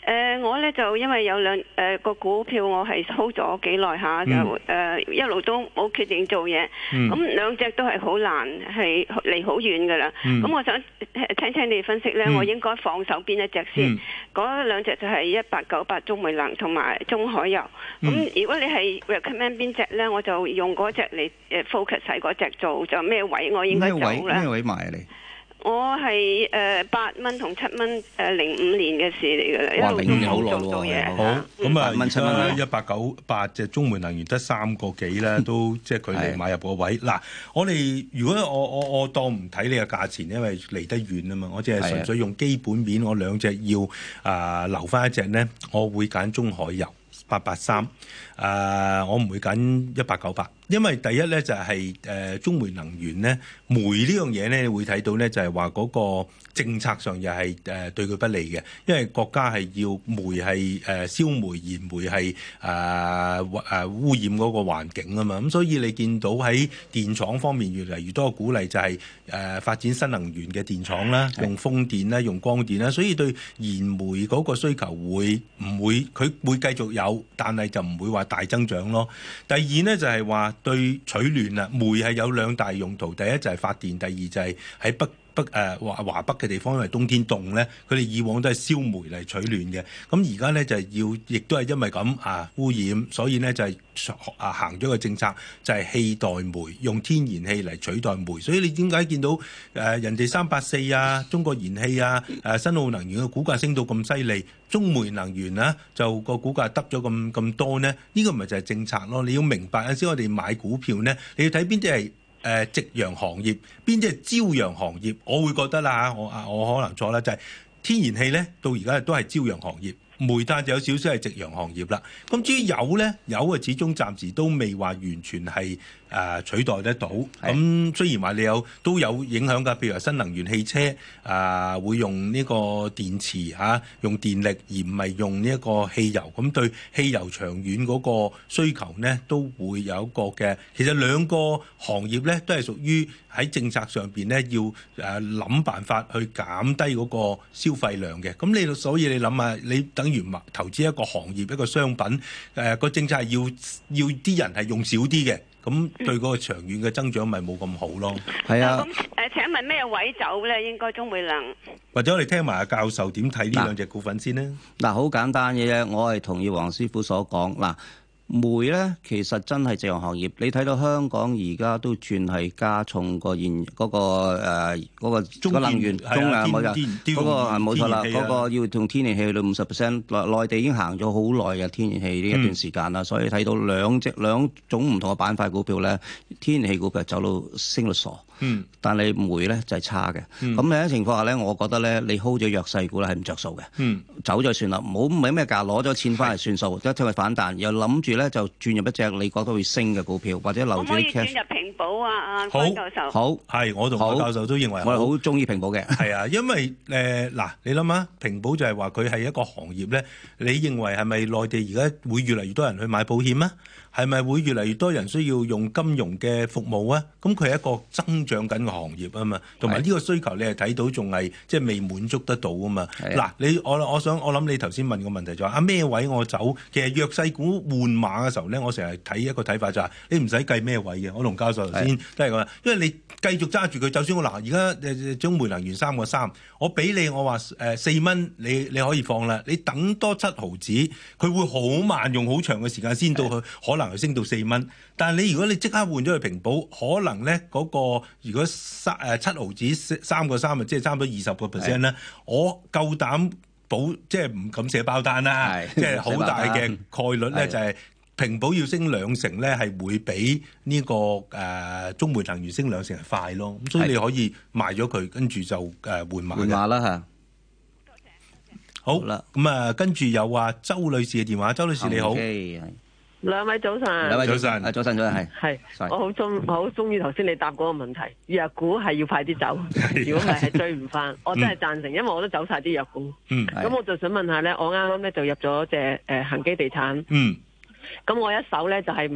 M: 我咧就因為有兩個股票我係 hold 咗幾耐下，就一路都冇決定做嘢。咁兩隻都係好難，係離好遠噶啦。咁我想聽你分析咧，我應該放手邊一隻先？嗰兩隻就係1898中煤能同埋中海油。咁如果你係 recommend 邊隻咧，我就用嗰隻嚟focus 喺嗰隻做，就咩位我應該走咧？
A: 咩位買啊你？我
M: 係8蚊同7蚊05年嘅事嚟㗎啦，一路都冇做嘢。
B: 好，咁啊，8蚊1898隻中煤能源得3個幾咧，都即係佢哋買入個位。嗱，我哋如果我當唔睇你嘅價錢，因為離得遠啊嘛，我只係純粹用基本面，我兩隻要留翻一隻咧，我會揀中海油883，我唔會揀1898。因為第一咧就係中煤能源咧，煤呢樣嘢咧，你會睇到咧就係話嗰個政策上又係對佢不利嘅，因為國家係要煤係燒煤燃煤係污染嗰個環境啊嘛，咁所以你見到喺電廠方面越嚟越多嘅鼓勵就係發展新能源嘅電廠啦，用風電啦，用光電啦，所以對燃煤嗰個需求佢會繼續有，但係就唔會話大增長咯。第二呢，就係話對取暖啊，煤係有兩大用途，第一就係發電，第二就係喺華北嘅地方，因為冬天凍咧，佢哋以往都係燒煤嚟取暖嘅。咁而家咧就係亦都係因為咁污染，所以咧就係行咗個政策，就係氣代煤，用天然氣嚟取代煤。所以你點解見到人哋384啊、中國燃氣啊、新奧能源嘅股價升到咁犀利，中煤能源啊就個股價得咗咁多呢？呢個咪就係政策咯。你要明白有陣時我哋買股票咧，你要睇邊啲係夕陽行業，邊啲係朝陽行業？我會覺得啦，我可能錯啦，就係天然氣咧，到而家都係朝陽行業，煤炭就有少少係夕陽行業啦。咁至於油咧，油啊始終暫時都未話完全係取代得到。咁雖然話你都有影響㗎，譬如話新能源汽車會用呢個電池用電力而唔係用呢一個汽油，咁對汽油長遠嗰個需求呢都會有一個嘅。其實兩個行業咧都係屬於喺政策上邊咧要諗辦法去減低嗰個消費量嘅。咁所以你諗下，你等於投資一個行業一個商品，個政策係要啲人係用少啲嘅。咁對嗰個長遠嘅增長咪冇咁好咯。係啊。
M: 咁請問咩位走咧？應該中煤能。
B: 或者我哋聽埋阿教授點睇呢兩隻股份先呢？
A: 嗱，好簡單嘅啫，我係同意黃師傅所講。嗱，煤咧其實真係夕陽行業。你睇到香港而家都轉係加重個嗰個能源中冇錯，嗰個係冇錯啦。嗰個要用天然氣去到50%，內地已經行咗好耐嘅天然氣呢一段時間啦。所以睇到兩種唔同嘅板塊股票咧，天然氣股票走到升到傻。但係煤咧就係差嘅。咁喺情況下咧，我覺得咧你 hold 咗弱勢股咧係唔着數嘅。走咗算啦，唔係咩價攞咗錢翻嚟算數，一聽佢反彈，又諗住咧就轉入一隻你覺得會升嘅股票，或者留住啲 cash。可唔可以轉入平保啊？關教授。好，係我同關教授都認為我係好中意平保嘅。係啊，因為嗱，你諗下，平保就係話佢係一個行業咧，你認為係咪內地而家會越嚟越多人去買保險啊？係咪會越嚟越多人需要用金融嘅服務啊？咁佢係一個增長緊嘅行業啊嘛，同埋呢個需求你係睇到仲係即係未滿足得到啊嘛。嗱，我諗你頭先問個問題就話咩位我走？其實弱勢股換馬嘅時候咧，我成日睇一個睇法就係你唔使計咩位嘅。我同教授頭先都係講，因為你繼續揸住佢，就算我而家中煤能源3個3，我俾你我話4蚊，你可以放啦。你等多7毫子，佢會好慢用好長嘅時間先到去，可能升到4蚊。但係如果你即刻換咗去平保，可能咧嗰個如果7毫子3個3，即係差唔多20% 咧，我夠膽保，即係唔敢寫包單啦，即係好大嘅概率咧就係平保要升2成咧，係會比呢個中煤能源升2成係快咯。咁所以你可以賣咗佢，跟住就換馬啦嚇。好啦，咁跟住有周女士嘅電話，周女士你好。
N: 兩位早晨，
B: 兩位早晨，
A: 早晨係。
N: 我好中意頭先你答嗰個問題，弱股係要快啲走，如果唔係追唔翻。我真係贊成，因為我都走晒啲弱股。咁我就想問下咧，我啱啱咧就入咗隻恒基地產。咁我一手咧就係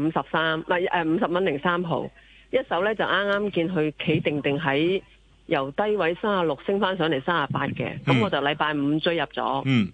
N: 50蚊零3毫，一手咧就啱啱見佢企定喺由低位36升翻上嚟38嘅。咁我就禮拜5追入咗。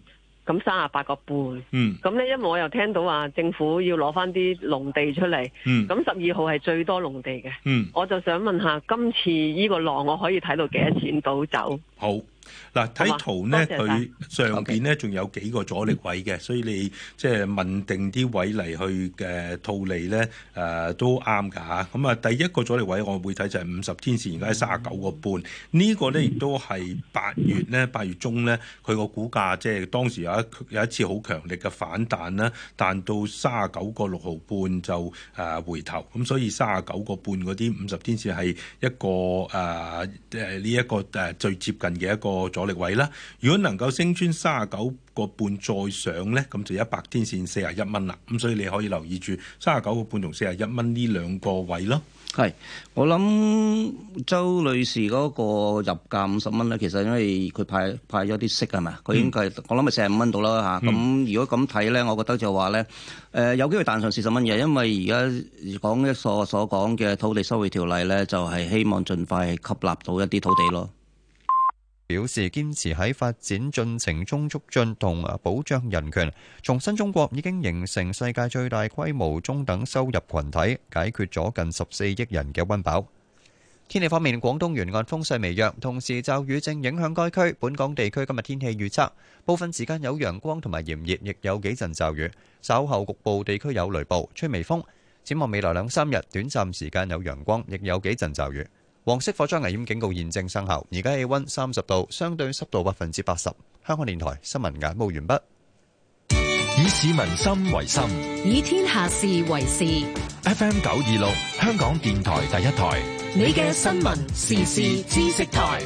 N: 咁38個半。咁咧，因為我又聽到話政府要攞翻啲農地出嚟，咁12號係最多農地嘅。我就想問下，今次呢個浪我可以睇到幾多錢到走？
B: 好。嗱，睇圖咧，佢上邊咧仲有幾個阻力位嘅，所以你即係問定啲位嚟去套利咧，都啱㗎嚇。咁啊，第一個阻力位我會睇就係50天線，而家係39個半。呢個咧亦都係8月中咧，佢個股價即係當時有一次好強力嘅反彈啦，彈到39個6毫半就回頭。咁所以39個半嗰啲50天線係一個呢一個最接近嘅一個阻力位啦。如果能夠升穿39個半再上咧，咁就100天線41蚊啦。咁所以你可以留意住39個半同41蚊呢兩個位咯。
A: 係，我諗周女士嗰個入價50蚊咧，其實因為佢派咗啲息係咪？佢應該我諗係45蚊到啦嚇。咁如果咁睇咧，我覺得就話咧，有機會彈上40蚊嘅，因為而家講所講嘅土地收回條例咧，就係希望盡快吸納到一啲土地咯。
E: 表示堅持喺發展進程中促進同保障人權，重申中國已經形成世界最大規模中等收入群體，解決咗近14億人嘅溫飽。天氣方面，廣東沿岸風勢微弱，同時驟雨正影響該區。本港地區今日天氣預測，部分時間有陽光同埋炎熱，亦有幾陣驟雨，稍後局部地區有雷暴，吹微風。展望未來2-3日，短暫時間有陽光，亦有幾陣驟雨。黃色火災危險警告現正生效，而家氣溫30度，相對濕度80%。香港電台新聞簡報完畢。
O: 以市民心為心，
C: 以天下事為事。
O: FM 926，香港電台第一台，
C: 你嘅新聞時事知識台。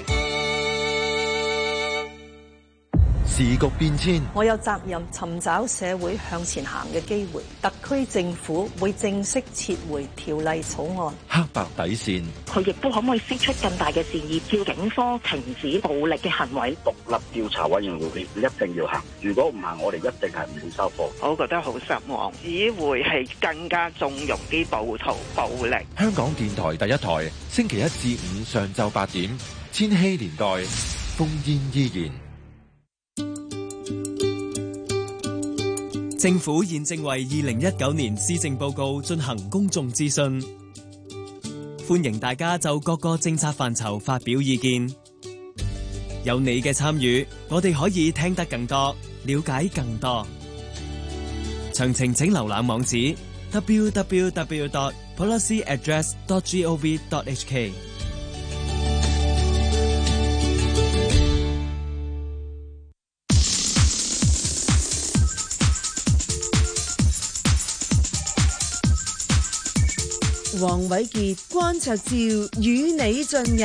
O: 時局變遷，
P: 我有責任尋找社會向前行嘅機會。特區政府會正式撤回條例草案。
O: 黑白底線，
Q: 佢亦都可唔可以釋出更大嘅善意，叫警方停止暴力嘅行為？
L: 獨立調查委員會一定要行，如果唔行，我哋一定係唔會收貨。
R: 我覺得好失望，只會係更加縱容啲暴徒暴力。
O: 香港電台第一台，星期1至5上晝8點，千禧年代，烽煙依然。
S: 政府現正為2019年施政報告進行公眾諮詢，歡迎大家就各個政策範疇發表意見。有你嘅參與，我哋可以聽得更多，了解更多。詳情請瀏覽網址 www.policyaddress.gov.hk。
J: 黃偉傑、關焯照與你進入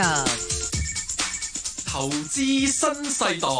G: 投資新世代。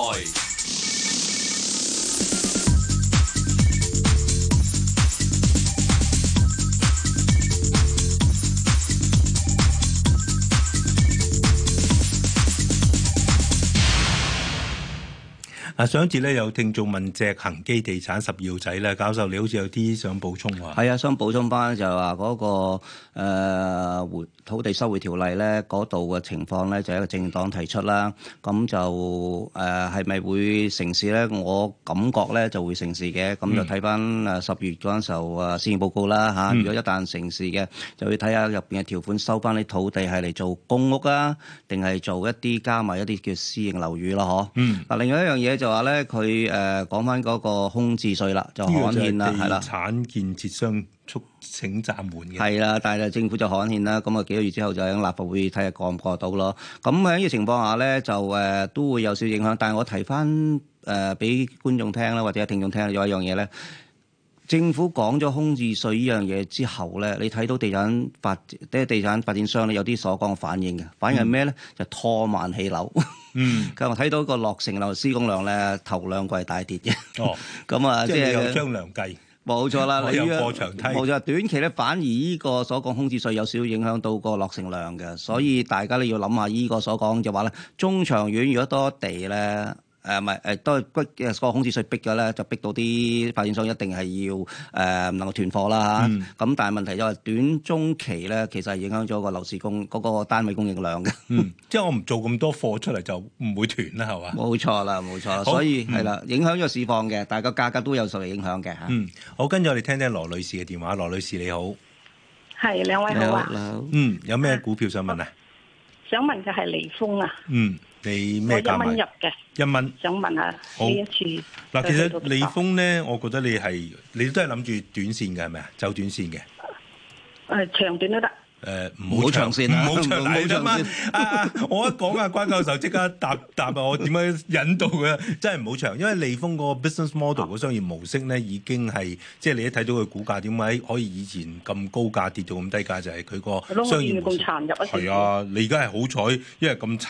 B: 上一節咧有聽眾問隻恒基地產12號仔咧，教授你好似有啲想補充喎。
A: 係啊，想補充翻就係話嗰個土地收回條例咧，嗰度嘅情況咧就係一個政黨提出啦。咁就係咪會成事咧？我感覺咧就會成事嘅。咁就睇翻10月嗰陣時候施政報告啦嚇。如果一旦成事嘅，就要睇下入邊嘅條款收翻啲土地係嚟做公屋啊，定係做一啲加埋一啲叫私營樓宇咯？嗱，另外一樣嘢就話咧，佢講翻嗰個空置稅啦，就刊憲啦，係啦。
B: 地產建設商促請暫緩嘅。係
A: 啦，但係政府就刊憲啦，咁啊幾個月之後就喺立法會睇下過唔過到咯。咁喺呢個情況下咧，就都會有少影響。但係我提翻俾觀眾聽啦，或者聽眾聽有一樣嘢咧。政府講咗空置稅呢樣嘢之後咧，你睇到地產發展商咧有啲所講嘅反應嘅，反應係咩咧？就拖慢起樓。咁我睇到個落成樓施工量咧，頭2季係大跌嘅。咁啊，即係
B: 有張良計。
A: 冇錯啦，
B: 你有過牆梯。
A: 冇錯，短期咧反而呢個所講空置稅有少少影響到個落成量嘅，所以大家咧要諗下呢個所講就話咧，中長遠如果多地咧。 唔係都係個空置稅逼嘅咧，就逼到啲發展商一定係要能夠斷貨啦。咁但係問題就係短中期咧，其實係影響咗個樓市嗰個單位供應量嘅。
B: 即係我唔做咁多貨出嚟就唔會斷啦，係嘛？
A: 冇錯啦，冇錯啦，所以係啦，影響咗市況嘅，但係個價格都有受嚟影響嘅嚇。
B: 好，跟住我哋聽聽羅女士嘅電話。羅女士你好，
K: 係兩位好啊。
B: 有咩股票想問啊？
K: 想問嘅係利豐啊。
B: 你咩價買？
K: 我1蚊入嘅。
B: 1蚊。
K: 想問下呢一次。
B: 嗱，其實利豐咧，我覺得你都係諗住短線嘅係咪啊？走短線嘅。
K: 長短都得。
A: 唔好長線啦，
B: 唔好長線。我一講關教授即刻答我點樣引導嘅，真係唔好長，因為利豐個 business model 個商業模式咧已經係即係你一睇到佢股價點解可以以前咁高價跌到咁低價，就係佢個商業模式。
K: 咁殘入啊！
B: 係啊，你而家係好彩，因為咁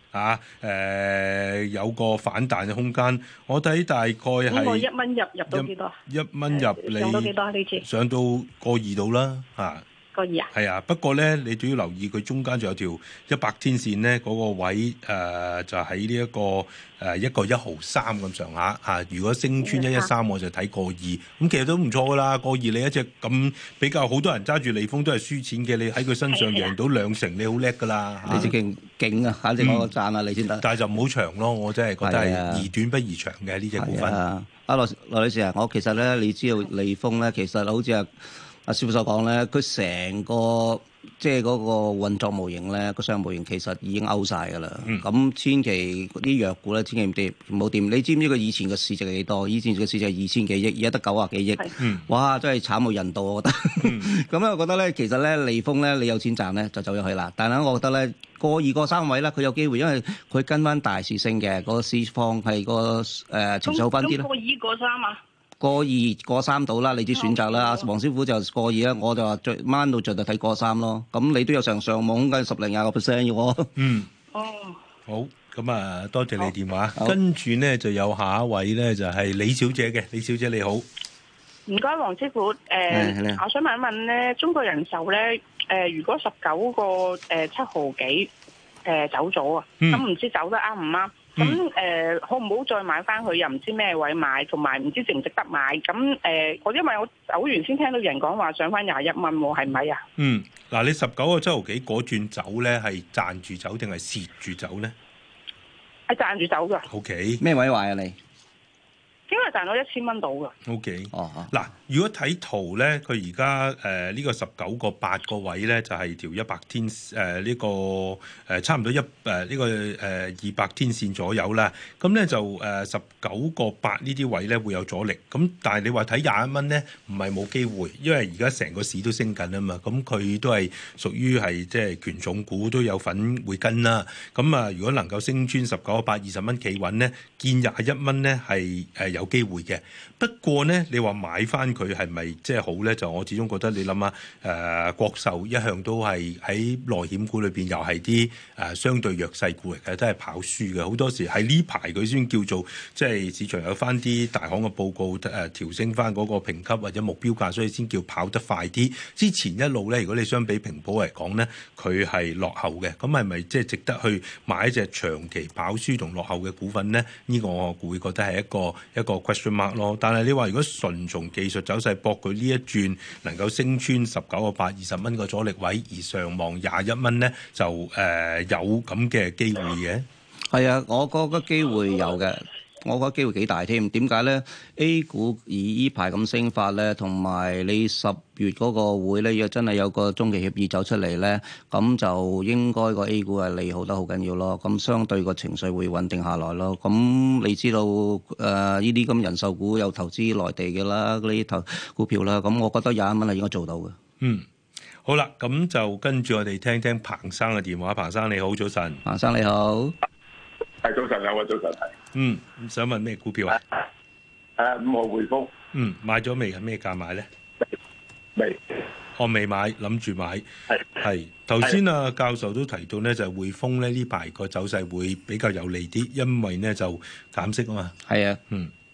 B: 殘有個反彈嘅空間。我睇大概係。
K: 咁我1蚊入到幾多
B: ？1蚊入你
K: 上到幾多呢次？
B: 上到1.2度啦，嚇。
K: 1.2啊？
B: 係啊，不過咧，你都要留意佢中間仲有條100天線咧，嗰個位就喺呢一個1.153咁上下嚇。如果升穿113，我就睇1.2，咁其實都唔錯噶啦。1.2你一隻咁比較好多人揸住利豐都係輸錢嘅，你喺佢身上贏到2成，你好叻噶啦。
A: 你隻勁啊！反正我讚下你先得。
B: 但係就唔好長咯，我真係覺得係宜短不宜長嘅呢隻股份。
A: 羅女士啊，我其實咧，你知道利豐咧，其實好似阿師傅所講咧，佢成個即係嗰個運作模型咧，個商業模型其實已經 out 晒㗎啦。咁千祈啲藥股咧，千祈唔好掂。你知唔知佢以前嘅市值係幾多？以前嘅市值係2000幾億，而家得90幾億。哇！真係慘無人道，我覺得。咁咧，我覺得咧，其實咧，利豐咧，你有錢賺咧，就走咗去啦。但係我覺得咧，過2、過3位咧，佢有機會，因為佢跟翻大市升嘅，個市況係個情緒好翻啲啦。
K: 過2、過3啊？
A: 過2、過3到啦，你啲選擇啦。阿黃師傅就過2啦，我就話最掹到盡就睇過3咯。咁你都有上網梗係10零20%嘅喎。
B: 好，咁啊，多謝你電話。跟住呢就有下一位咧，就係李小姐嘅。李小姐你好，
K: 唔該，黃師傅。我想問一問咧，中國人壽咧，如果19個7毫幾走咗啊，咁唔知走得啱唔啱？咁好唔好再買翻佢？又唔知咩位買，同埋唔知值唔值得買。咁因為我走完先聽到人講話上翻21蚊喎，係咪啊？
B: 嗱，你19個7毫幾嗰轉走咧，係賺住走定係蝕住走咧？
K: 係賺住走噶。
B: OK。
A: 咩位買啊你？
K: 應該賺到1000蚊到㗎。
B: OK。嗱，如果睇圖咧，佢而家呢個19個8個位咧，就係條100天呢個差唔多呢個200天線左右啦。咁咧就19個8呢啲位咧會有阻力。咁但係你話睇21蚊咧，唔係冇機會，因為而家成個市都升緊啊嘛。咁佢都係屬於係即係權重股都有份會跟啦。咁啊，如果能夠升穿19個8 20蚊企穩咧，見21蚊咧係有機會嘅。不過咧，你話買翻佢係咪即係好咧？就我始終覺得你諗下，國壽一向都係喺內險股裏邊又係啲相對弱勢股嚟嘅，都係跑輸嘅。好多時喺呢排佢先叫做即係市場有翻啲大行嘅報告調升翻嗰個評級或者目標價，所以先叫跑得快啲。之前一路咧，如果你相比平保嚟講咧，佢係落後嘅。咁係咪即係值得去買一隻長期跑輸同落後嘅股份咧？呢個我會覺得係一個 question mark 咯。但係你話如果純從技術走勢搏佢呢一轉能夠升穿19個8 20蚊個阻力位，而上望21蚊咧，就有咁嘅機會嘅。
A: 係啊，我覺得機會有嘅。我覺得機會幾大添，點解咧 ？A 股以依排咁升法咧，同埋你10月嗰個會咧，若真係有個中期協議走出嚟咧，咁就應該個 A 股係利好得好緊要咯。咁相對個情緒會穩定下來咯。咁你知道呢啲咁人壽股有投資內地嘅啦，嗰啲投股票啦，咁我覺得21蚊係應該做到嘅。
B: 好啦，咁就跟住我哋聽聽彭生嘅電話。彭生你好，早晨。
A: 彭生你好，
T: 係早晨，兩位早晨係。
B: 想問咩股票啊
T: ？5號匯豐。
B: 買咗未？係咩價買咧？
T: 未。
B: 我未買，諗住買。係。頭先教授都提到咧，就係匯豐咧呢排個走勢會比較有利啲，因為咧就減息啊嘛。
A: 係啊。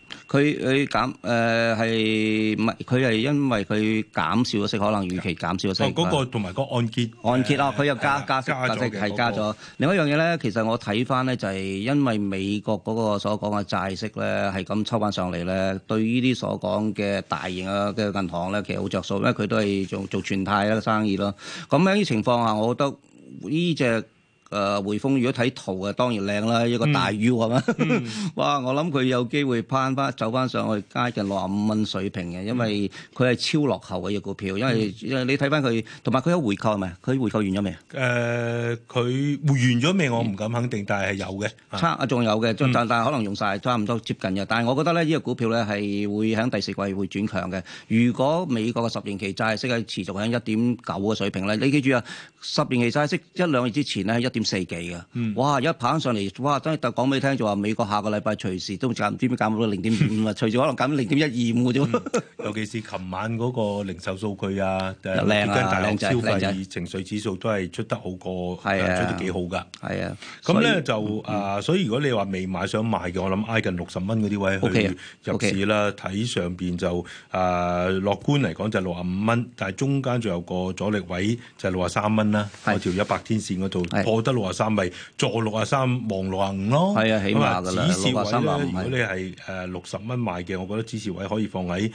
A: 佢減係唔係？佢係因為佢減少咗息，可能預期減少咗息。
B: 嗰個同埋個按揭
A: 啊，佢又加息係加咗。另一樣嘢咧，其實我睇翻咧就係因為美國嗰個所講嘅債息咧係咁抽翻上嚟咧，對呢啲所講嘅大型嘅銀行咧，其實好着數，因為佢都係做全貸嘅生意咯。咁喺呢情況下，我覺得呢隻匯豐如果睇圖啊，當然靚啦，一個大 U 係嘛？哇！我諗佢有機會走翻上去接近65蚊水平嘅，因為佢係超落後嘅隻股票，因為你睇翻佢，同埋佢有回購係咪？佢回購完咗未？
B: 佢完咗未？我唔敢肯定，但係有嘅。
A: 仲有嘅，但係可能用晒，差唔多接近嘅。但係我覺得咧，呢個股票咧係會喺第四季會轉強嘅。如果美國嘅10年期債息係持續喺1.9嘅水平咧，你記住啊，10年期債息1-2月之前咧係1.4幾嘅，哇！一跑上嚟，哇！真係講俾你聽就話美國下個禮拜隨時都減，唔知點減到0.5啊，隨時可能減到0.125嘅啫。
B: 尤其是琴晚嗰個零售數據啊，
A: 靚
B: 大陸消費情緒指數都係出得好過，出得幾好㗎。係啊，咁咧就所以如果你話未買想買嘅，我諗挨近60蚊嗰啲位去入市啦。睇上邊就樂觀嚟講就65蚊，但係中間仲有個阻力位就係63蚊啦。嗰條100天線嗰度破得63咪坐63望65咯。係啊，起碼㗎啦。止蝕位咧，如果你係60蚊買嘅，我覺得止蝕位可以放喺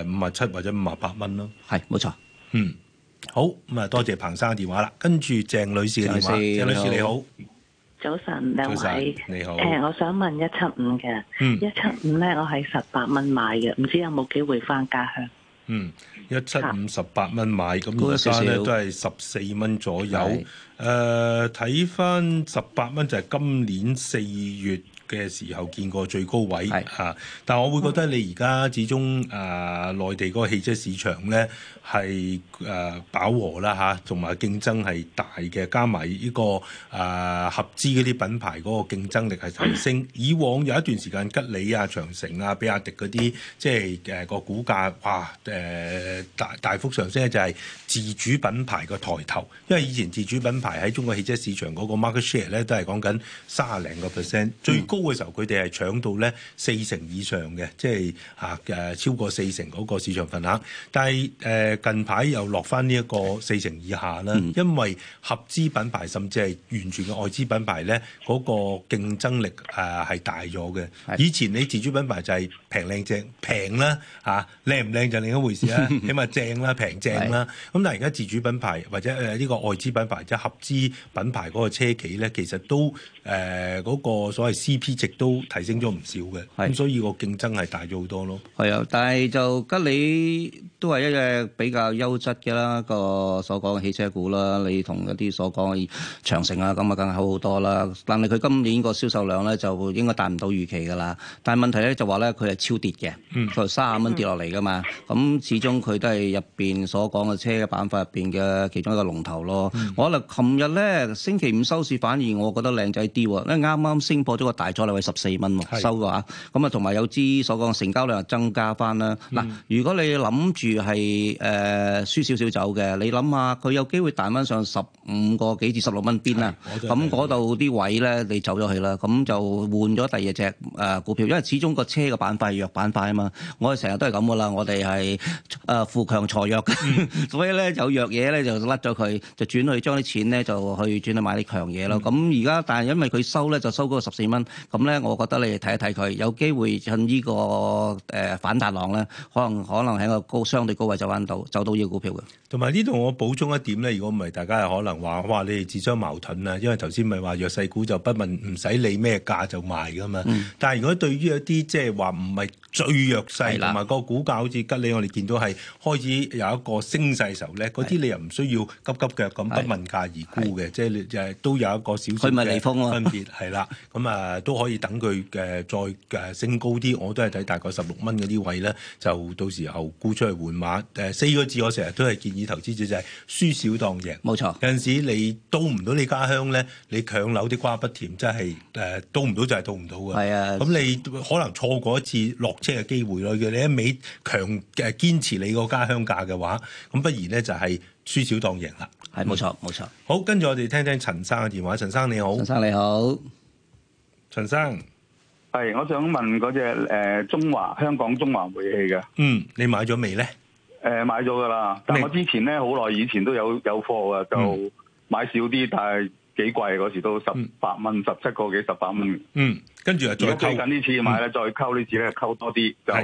B: 57或者58蚊咯。
A: 係冇錯。
B: 好咁啊，多謝彭生嘅電話啦。跟住鄭女士嘅電話，鄭女士你好。
U: 早晨，兩位
B: 你好。
U: 我想問175嘅，175咧，我係18蚊買嘅，唔知有冇機會翻家鄉
B: ？175 18蚊買，咁而家咧都係14蚊左右。睇翻18蚊就係今年4月嘅時候見過最高位嚇，但係我會覺得你而家始終內地嗰個汽車市場咧係飽和啦嚇，同埋競爭係大嘅，加埋呢個合資嗰啲品牌嗰個競爭力係提升。以往有一段時間吉利啊、長城啊、比亞迪嗰啲，即係個股價哇大幅上升咧，就係自主品牌個抬頭，因為以前自主品牌喺中國汽車市場嗰個 market share 咧都係講緊30零個%，最高嘅時候佢哋係搶到咧40%以上嘅，即係超過40%嗰個市場份額。但係近排又落翻呢一個40%以下啦，因為合資品牌甚至係完全嘅外資品牌咧，嗰個競爭力係大咗嘅。以前你自主品牌就係平靚正，平啦嚇，靚唔靚就另一回事啦，起碼正啦、平正啦。咁但係而家自主品牌或者呢個外資品牌即係合資品牌嗰個車企咧，其實都嗰個所謂 CP 值都提升咗唔少嘅，咁所以個競爭係大咗好多咯。
A: 係啊，但係就吉利都係一隻比較優質嘅啦，個所講嘅汽車股啦。你同一啲所講嘅長城啊，咁啊，梗係好好多啦。但係佢今年個銷售量咧就應該達唔到預期㗎啦。但係問題咧就話咧佢係超跌嘅，佢30蚊跌落嚟㗎嘛。咁始終佢都係入邊所講嘅車嘅板塊入邊嘅其中一個龍頭咯。我覺得琴日咧星期五收市反而我覺得靚仔啲喎，因為啱啱升破咗個大阻力位14蚊喎，收嘅話。咁啊同埋有支所講成交量增加翻啦。嗱，如果你諗住係輸少少走嘅，你諗下佢有機會彈翻上15個幾至16蚊邊啦。咁嗰度啲位咧，你走咗去啦，咁就換咗第二隻股票，因為始終個車嘅板塊係弱板塊啊嘛。我哋成日都係咁噶啦，我哋係富強財弱，所以咧有弱嘢咧就甩咗佢，就轉去將啲錢咧就去轉去買啲強嘢咯。咁而家但係因為佢收咧就收嗰個14蚊，咁咧我覺得你哋睇一睇佢，有機會趁呢個反彈浪咧，可能喺個相對高位走到呢個股票嘅。
B: 同埋呢度我補充一點咧，如果唔係大家係可能話哇你哋自相矛盾啊，因為頭先咪話弱勢股就不問唔使理咩價就賣噶嘛。但係如果對於一啲即係話唔係最弱勢同埋個股價好似吉利，我哋見到係開始有一個升勢時候咧，嗰啲你又唔需要急急腳咁不問價而沽嘅，即係都有一個少少嘅分別係啦。咁都可以等佢再升高啲，我都係睇大概16蚊嗰啲位咧，就到時候沽出去換馬。4個字我成日都係建議投資者就係輸少當贏。冇錯，有陣時你到唔到你家鄉咧，你強扭啲瓜不甜，真係到唔到就係到唔到嘅。係啊，咁你可能錯過一次落車嘅機會咯。你一味堅持你個家鄉價嘅話，咁不如咧就係輸少當贏啦。係冇錯冇錯。好，跟住我哋聽聽陳生嘅電話。陳生你好。陳生你好。陳生。
T: 係，我想問嗰隻香港中華煤氣嘅。
B: 你買咗未咧？
T: 買咗㗎啦，但我之前咧好耐以前都有貨嘅，就買少啲，但係幾貴嗰時都18蚊，17個幾18蚊。
B: 跟住又再溝。
T: 最近呢次買咧，再溝呢次咧溝多啲就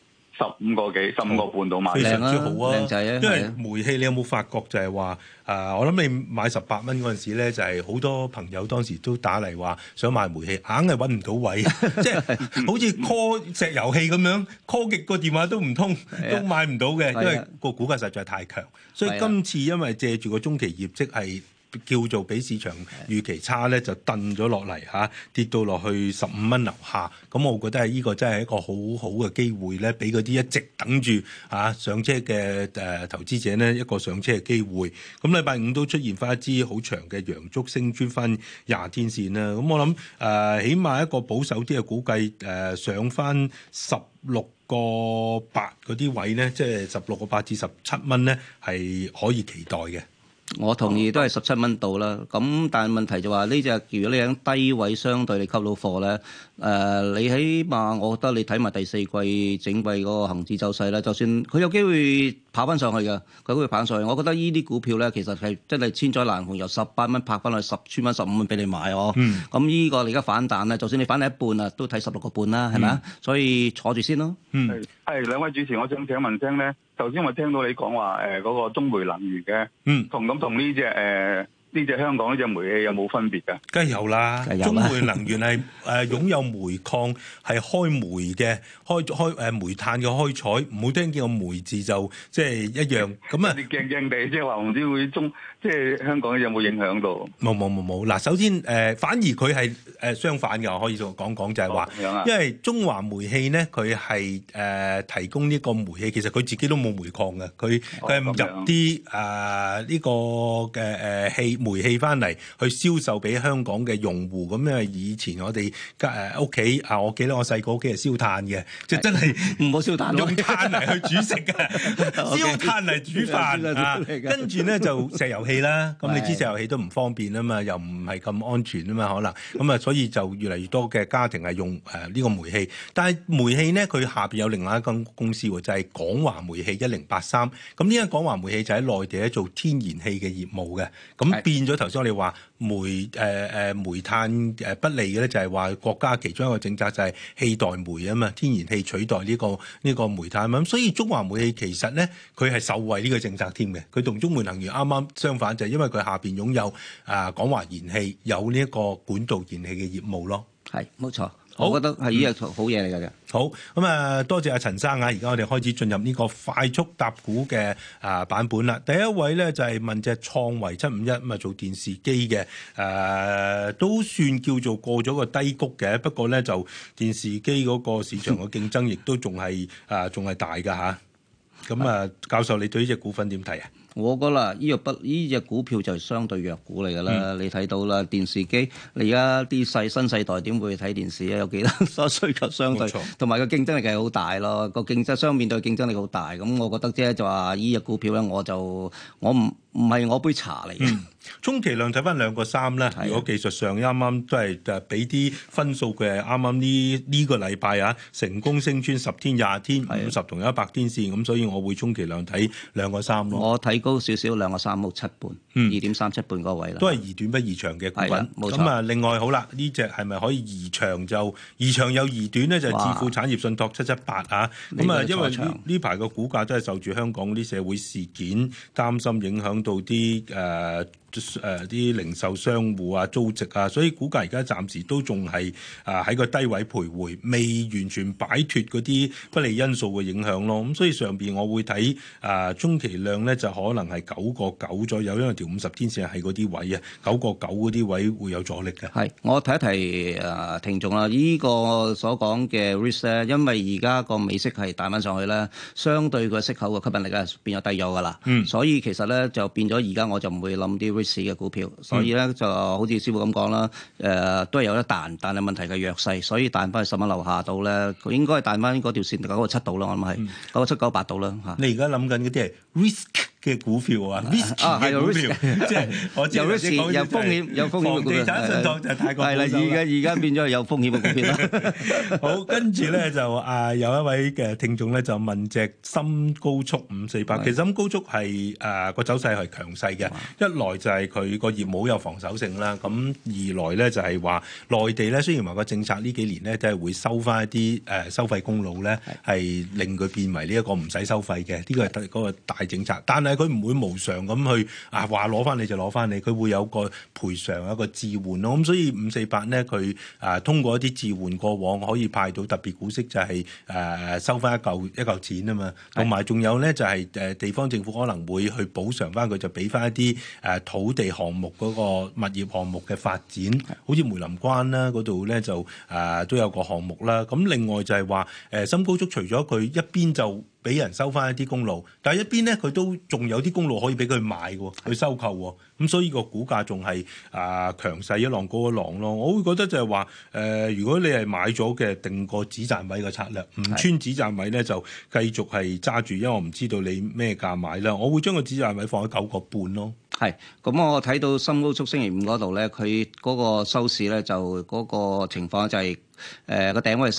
T: 15個幾15個半到買。
B: 非常之好啊，
A: 靚仔啊！
B: 因為煤氣你有冇發覺就係話我諗你買18蚊嗰陣時咧，就係好多朋友當時都打嚟話想買煤氣，硬係揾唔到位，即係好似 call 石油氣咁樣 call 極個電話都唔通，都買唔到嘅，因為個股價實在太強。所以今次因為借住個中期業績係叫做比市場預期差咧，就燉咗落嚟嚇，跌到落去15蚊樓下。咁我覺得係呢個真係一個好好嘅機會咧，俾嗰啲一直等住上車嘅投資者呢一個上車嘅機會。咁禮拜五都出現翻一支好長嘅陽燭升穿翻20天線啦。咁我諗起碼一個保守啲嘅估計上翻16個8嗰啲位咧，即係16個8至17蚊咧，係可以期待嘅。
A: 我同意都係17蚊到啦，咁但係問題就話呢隻如果你喺低位相對你溝到貨咧，你起碼我覺得你睇埋第四季整季嗰個恆指走勢咧，就算佢有機會跑翻上去嘅，佢都會跑上去。我覺得呢啲股票咧其實係真係千載難逢，由18蚊拍翻去10穿蚊15蚊俾你買哦。咁呢個你而家反彈咧，就算你反彈一半啊，都睇16個半啦，係咪啊？所以坐住先咯。
T: 係兩位主持，我想請問聲咧，頭先我聽到你講話嗰個中煤能源嘅，同呢隻香港呢隻煤氣有冇分別㗎？
B: 梗係有啦，中煤能源係擁有煤礦，係開煤嘅，開煤炭嘅開採，唔好聽見個煤字就即係一樣咁啊！
T: 你驚驚地，即係話唔知會即係香港有冇影響到？
B: 冇。嗱，首先反而佢係相反嘅，我可以講講就係話，因為中華煤氣咧，佢係提供呢個煤氣，其實佢自己都冇煤礦嘅，佢係入啲呢個嘅煤氣翻嚟去銷售俾香港嘅用戶。咁因為以前我哋屋企我記得我細個屋企係燒炭嘅，即係真係
A: 唔好燒炭，
B: 用炭嚟去煮食嘅，燒炭嚟煮飯跟住咧就石油氣啦。咁你知石油氣都唔方便啊嘛，又唔係咁安全啊嘛，可能咁啊，所以就越嚟越多嘅家庭係用呢個煤氣。但係煤氣咧，佢下邊有另外一間公司喎，就係港華煤氣1083。咁呢間港華煤氣就喺內地咧做天然氣嘅業務嘅。咁變咗頭先我哋話煤炭不利嘅咧，就係話國家其中一個政策就係氣代煤啊嘛，天然氣取代呢個煤炭啊嘛。咁所以中華煤氣其實咧，佢係受惠呢個政策添嘅。佢同中煤能源啱啱相反，就係因為佢下邊擁有港華燃氣有呢一個管道燃氣嘅業務咯。
A: 係冇錯。我覺得係呢個好嘢嚟㗎。
B: 好咁啊，多謝阿陳生啊！而家我哋開始進入呢個快速答股嘅版本啦。第一位咧就係問隻創維751咁啊，做電視機嘅都算叫做過咗個低谷嘅，不過咧就電視機嗰個市場嘅競爭亦都仲係大㗎嚇。咁啊，教授你對呢隻股份點睇啊？
A: 我覺得呢隻股票就係相對弱股嚟㗎啦。你睇到啦，電視機你而家啲新世代點會睇電視啊？有幾多需求相對，同埋個競爭力係好大咯。個競爭面對競爭力好大，咁我覺得即係就話呢隻股票咧，我唔係我杯茶嚟嘅。
B: 充其量睇翻2個3啦。如果技術上啱啱都係俾啲分數嘅，啱啱呢個禮拜成功升穿10天、20天、50同100天線，咁所以我會充其量睇2個3咯。
A: 我睇高少少2個3冇7半，2.37半嗰位啦。
B: 都係宜短不宜長嘅股份。
A: 冇錯。
B: 咁啊，另外好啦，呢隻係咪可以宜長就宜長有宜短咧？就係智富產業信託778啊。咁啊，因為呢排個股價都係受住香港啲社會事件擔心影響到啲啲零售商戶租值所以股價而家暫時都仲係喺個低位徘徊，未完全擺脫嗰啲不利因素嘅影響咯。咁所以上邊我會睇中期量咧就可能係9個9左右，因為條50天線係嗰啲位9個9嗰啲位會有阻力嘅。
A: 係，我提一提聽眾啦，呢個所講嘅 risk 咧，因為而家個美息係彈翻上去咧，相對個息口嘅吸引力咧變咗低咗㗎啦。所以其實咧就變咗而家我就唔會諗啲嘅股票，所以咧就好似師傅咁講啦，都係有得彈，但係問題嘅弱勢，所以彈翻去10蚊樓下度咧，佢應該係彈翻嗰條線9個7度啦，我諗係9個7、9個8度啦嚇。
B: 你而家諗緊嗰啲係 risk 嘅股票啊，risky 嘅股票，即係我知
A: 有風險嘅股票。
B: 房地產信託就太過保守啦。
A: 係啦，而家變咗係有風險嘅股票啦。
B: 好，跟住咧就有一位嘅聽眾咧就問隻深高速548，其實深高速係個走勢係強勢嘅，一來就係佢個業務有防守性啦，咁二來咧就係話內地咧雖然話個政策呢幾年咧都係會收翻一啲收費公路咧，係令佢變為呢一個唔使收費嘅，呢個係嗰個大政策。但係佢唔會無償咁去話攞翻你就攞翻你，佢會有個賠償一個置換咯。咁所以548咧佢通過一啲置換過往可以派到特別股息，就係收翻一嚿錢啊嘛。同埋仲有咧就係地方政府可能會去補償翻佢，就俾翻一啲土地項目嗰個物業項目嘅發展，好似梅林關啦嗰度咧就都有個項目啦。咁另外就係話深高速除咗佢一邊就俾人收翻一啲公路，但係一邊咧佢都仲有啲公路可以俾佢買喎，去收購喎。咁所以個股價仲係強勢一浪高一浪咯。我會覺得就係話如果你係買咗嘅，定個止賺位嘅策略，唔穿止賺位咧就繼續係揸住，因為我唔知道你咩價買啦。我會將個止賺位放喺9個半咯。
A: 係，咁我睇到深高速星期五嗰度咧，佢嗰個收市咧就嗰個情況就係個頂位係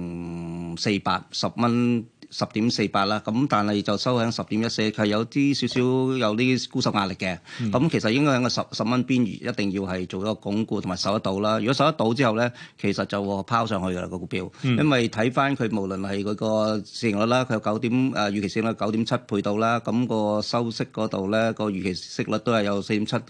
A: 10.48，10蚊。10.48啦，咁但係就收喺10.14，係有啲少少有啲沽售壓力嘅。咁其實應該喺個10蚊邊緣，一定要係做一個鞏固同埋守得到啦。如果守得到之後咧，其實就拋上去㗎啦個股票，因為睇翻佢無論係佢個市盈率啦，佢有預期市盈率9.7倍到啦，咁個收息嗰度咧個預期息率都係有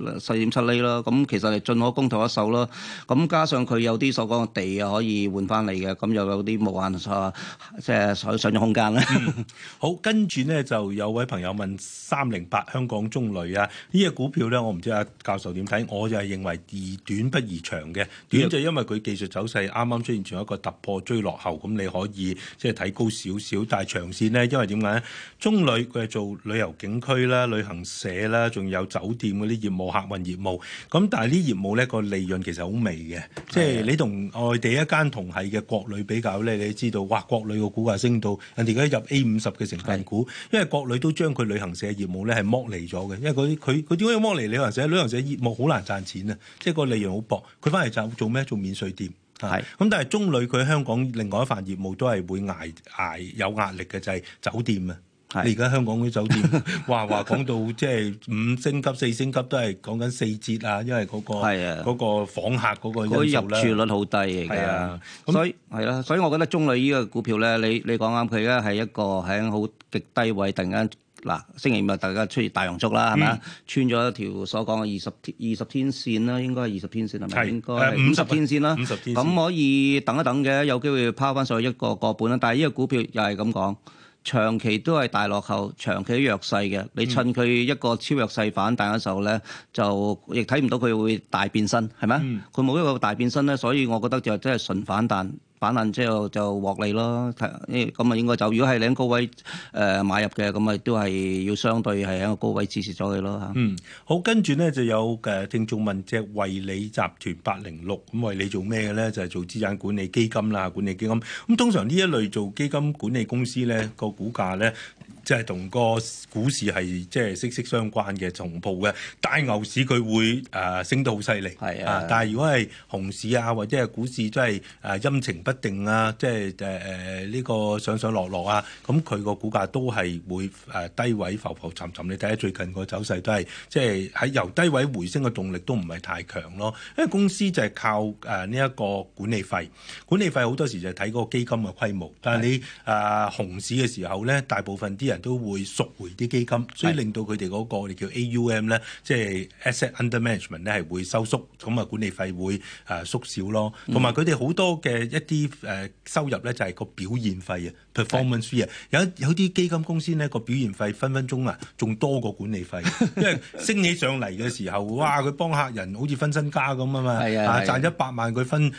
A: 4.7厘啦。咁其實係進可攻退可守咯。咁加上佢有啲所講嘅地可以換翻嚟嘅，咁又有啲無限即係上漲空間。
B: 好，跟住呢就有位朋友問308香港中旅啊，呢隻股票咧，我唔知阿教授點睇，我就係認為宜短不宜長嘅。短就因為佢技術走勢啱啱出現咗一個突破追落後，咁你可以即係睇高少少，但係長線呢，因為點解咧？中旅佢係做旅遊景區啦、旅行社啦，仲有酒店嗰啲業務、客運業務。咁但係呢業務咧個利潤其實好微嘅，即係你同外地一間同係嘅國旅比較咧，你知道哇，國旅個股價升到人哋而家入 A50嘅成分股，因為國旅都將佢旅行社業務咧係剝離咗嘅，因為佢點解要剝離旅行社？旅行社業務好難賺錢啊，即係個利潤好薄。佢翻嚟做咩？做免稅店。係咁，但係中旅佢喺香港另外一份業務都係會捱有壓力嘅，就係酒店啊。你而家香港啲酒店話講到即係5星級、4星級都係講緊4折啊，因為嗰個訪客嗰個因素咧，
A: 入住率好低嚟㗎。所以係啦，所以我覺得中旅呢個股票咧，你講啱，佢而家係一個喺好極低位，突然間星期五大家出現大陽燭啦，係咪？穿咗一條所講嘅20天線啦，應該係20天線係咪？應該係50天線啦。50天線咁可以等一等嘅，有機會拋翻上去1個半啦。但係呢個股票又係咁講。長期都係大落後，長期都弱勢嘅。你趁佢一個超弱勢反彈嘅時候咧，就亦睇唔到佢會大變身，係咪？佢冇一個大變身咧，所以我覺得就真係純反彈。反彈之後就獲利咯，咁啊應該就如果係你喺高位買入嘅，咁啊都係要相對係喺個高位支持咗佢咯嚇。
B: 好，跟住咧就有聽眾問隻惠理集團806，咁惠理做咩嘅咧？就係做資產管理基金啦，管理基金。咁通常呢一類做基金管理公司咧，個股價咧，即係同個股市係即係息息相關嘅同步嘅。大牛市佢會升得好犀利，但係如果係熊市啊，或者係股市真係陰晴不定啊，即係呢個上上落落啊，咁佢個股價都係會低位浮浮沉沉。你睇下最近個走勢都係即係喺由低位回升嘅動力都唔係太強咯。因為公司就係靠呢一個管理費，管理費好多時就係睇嗰個基金嘅規模。但係你熊市嘅時候咧，大部分啲人都會贖回啲基金，所以令到佢哋嗰個我哋叫 AUM 咧，即係 Asset Under Management 咧係會收縮，咁啊管理費會縮少咯。同埋佢哋好多嘅一啲收入咧就係個表現費啊 ，performance fee 啊。有啲基金公司咧個表現費分分鐘啊仲多過管理費，因為升起上嚟嘅時候，哇！佢幫客人好似分身家咁啊嘛，賺100萬佢分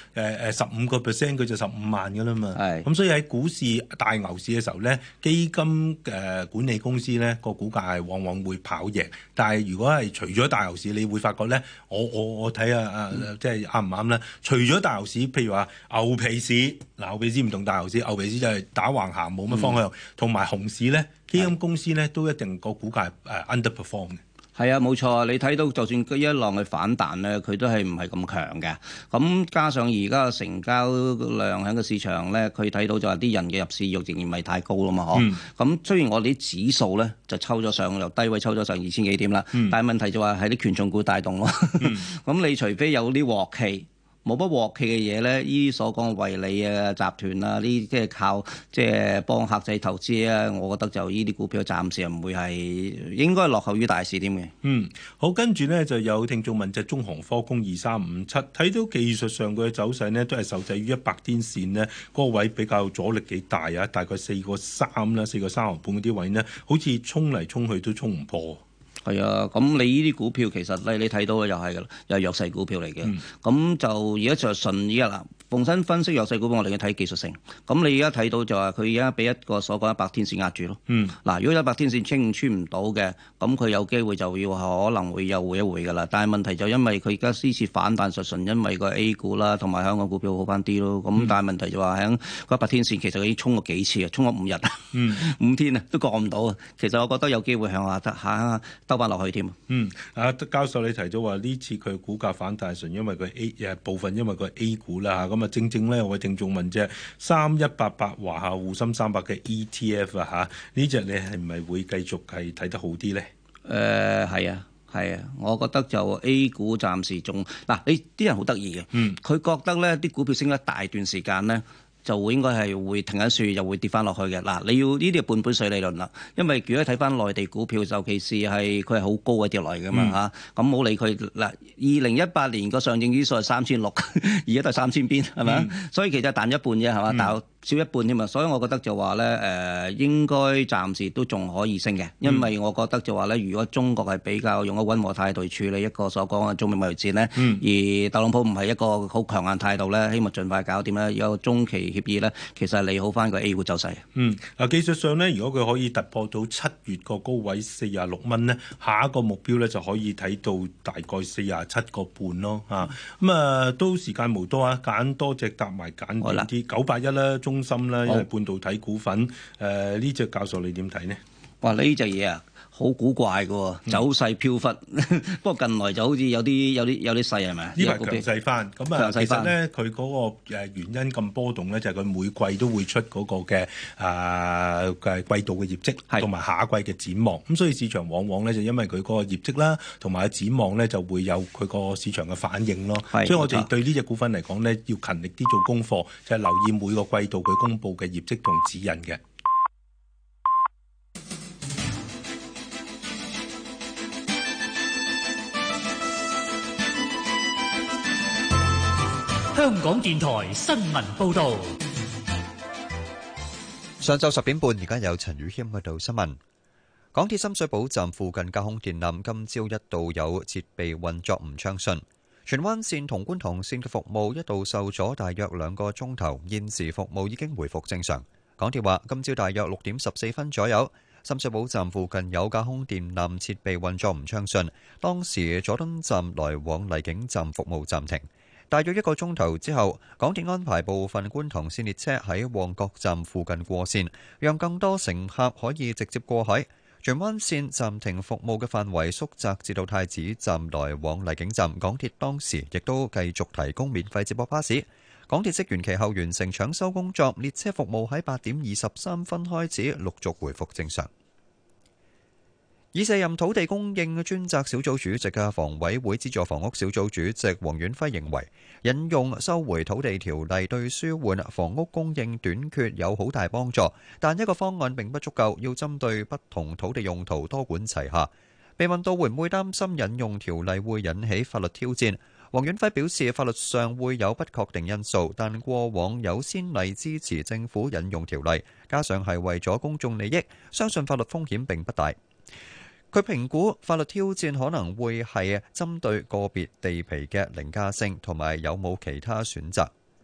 B: 15%佢就15萬噶啦嘛。咁所以喺股市大牛市嘅時候咧，基金管理公司咧個股價係往往會跑贏，但係如果係除咗大牛市，你會發覺咧，我睇下即係啱唔啱咧？除咗大牛市，譬如話牛皮市，牛皮市唔同大牛市，牛皮市就係打橫行冇乜方向，同埋熊市咧，基金公司咧都一定個股價underperform 嘅。
A: 係啊，冇錯，你睇到就算佢一浪去反彈咧，佢都係唔係咁強嘅。咁加上而家嘅成交量喺個市場咧，佢睇到就係啲人嘅入市欲仍然唔係太高啦嘛，嗬。咁雖然我哋啲指數咧就抽咗上，由低位抽咗上2000幾點啦，但係問題就話係啲權重股帶動咯。咁你除非有啲鑊氣。冇乜鑊氣嘅嘢咧，依啲所講嘅惠理啊、集團啊，呢啲即係靠即係幫客仔投資啊，我覺得就依啲股票暫時唔會係應該落後於大市添嘅。
B: 好，跟住呢就有聽眾問隻中航科工2357，睇到技術上佢嘅走勢呢都係受制於100天線呢嗰個位比較阻力幾大啊，大概4個3啦、4個3毫半嗰啲位呢，好似衝嚟衝去都衝唔破。
A: 係啊，咁你呢啲股票其實咧，你睇到又係㗎啦，又係弱勢股票嚟嘅。咁就而家就順依家啦。逢身分析弱勢股票，我哋要睇技術性。咁你而家睇到就話佢而家俾一個所講100天線壓住咯。嗱，如果100天線穿唔到嘅，咁佢有機會就要可能會又回一回㗎啦。但係問題就因為佢而家呢次反彈純因為個 A 股啦，同埋香港股票好翻啲咯。咁但係問題就話喺100天線其實佢已經衝過幾次啊，衝咗5日5天啊都過唔到啊。其實我覺得有機會向下兜翻落去添。
B: 教授你提到話呢次佢股價反彈純因為佢部分因為佢 A 股啦嚇，咁啊正正咧有位聽眾問啫，3188華夏滬深300嘅 ETF 啊嚇，呢隻你係唔係會繼續係睇得好啲咧？
A: 係啊，我覺得就 A 股暫時仲嗱，你啲人好得意嘅，佢覺得咧啲股票升一大段時間咧。就會應該係會停一樹，又會跌翻落去嘅。嗱，你要呢啲係半杯水理論啦。因為如果睇翻內地股票，尤其是係佢係好高嘅跌落嚟㗎嘛嚇。咁冇理佢嗱，2018年個上證指數係3600，而家都係3000邊係咪？所以其實彈一半啫係嘛，但少一半添嘛。所以我覺得就話咧應該暫時都仲可以升嘅。因為我覺得就話咧，如果中國係比較用一個溫和態度處理一個所講嘅中美貿易戰咧，而特朗普唔係一個好強硬態度咧，希望盡快搞掂咧，有中期協議咧，其實係利好翻個 A 股走勢。
B: 技術上咧，如果佢可以突破到7月個高位46蚊咧，下一個目標咧就可以睇到大概47個半咯嚇。都時間無多啊，揀多隻搭埋揀短啲，981啦、中芯啦，因為半導體股份。呢隻教授你點睇呢？
A: 哇！呢隻嘢啊〜好古怪嘅喎，走勢飄忽。不過近來就好似有啲勢係咪？
B: 呢排強勢翻，咁其實咧佢嗰個原因咁波動咧，就係佢每季都會出嗰個嘅季度嘅業績，同埋下一季嘅展望。咁所以市場往往咧就因為佢嗰個業績啦，同埋展望咧就會有佢個市場嘅反應咯。所以我哋對呢隻股份嚟講咧，要勤力啲做功課，就係留意每個季度佢公佈嘅業績同指引嘅。
D: 香港電台新聞報導。
E: 上晝10點半，而家有陳宇謙喺度新聞。港鐵深水埗站附近架空電纜今朝一度有設備運作唔暢順，荃灣線同觀塘線嘅服務一度受阻大約2個鐘頭，現時服務已經回復正常。港鐵話，今朝大約6點14分左右，深水埗站附近有架空電纜設備運作唔暢順，當時佐敦站來往荔景站服務暫停。大約1個鐘頭之後，港鐵安排部分觀塘線列車喺旺角站附近過線，讓更多乘客可以直接過海。荃灣線暫停服務嘅範圍縮窄至到太子站來往荔景站，港鐵當時亦都繼續提供免費接駁巴士。港鐵職員其後完成搶修工作，列車服務喺8點23分開始陸續回復正常。已卸任土地供應專責小組主席嘅房委會資助房屋小組主席黃遠輝認為，引用收回土地條例對舒緩房屋供應短缺有好大幫助，但一個方案並不足夠，要針對不同土地用途多管齊下。被問到會唔會擔心引用條例會引起法律挑戰，黃遠輝表示法律上會有不確定因素，但過往有先例支持政府引用條例，加上係為咗公眾利益，相信法律風險並不大。佢評估法律挑戰可能會係針對個別地皮嘅凌駕性同埋有冇其他選擇。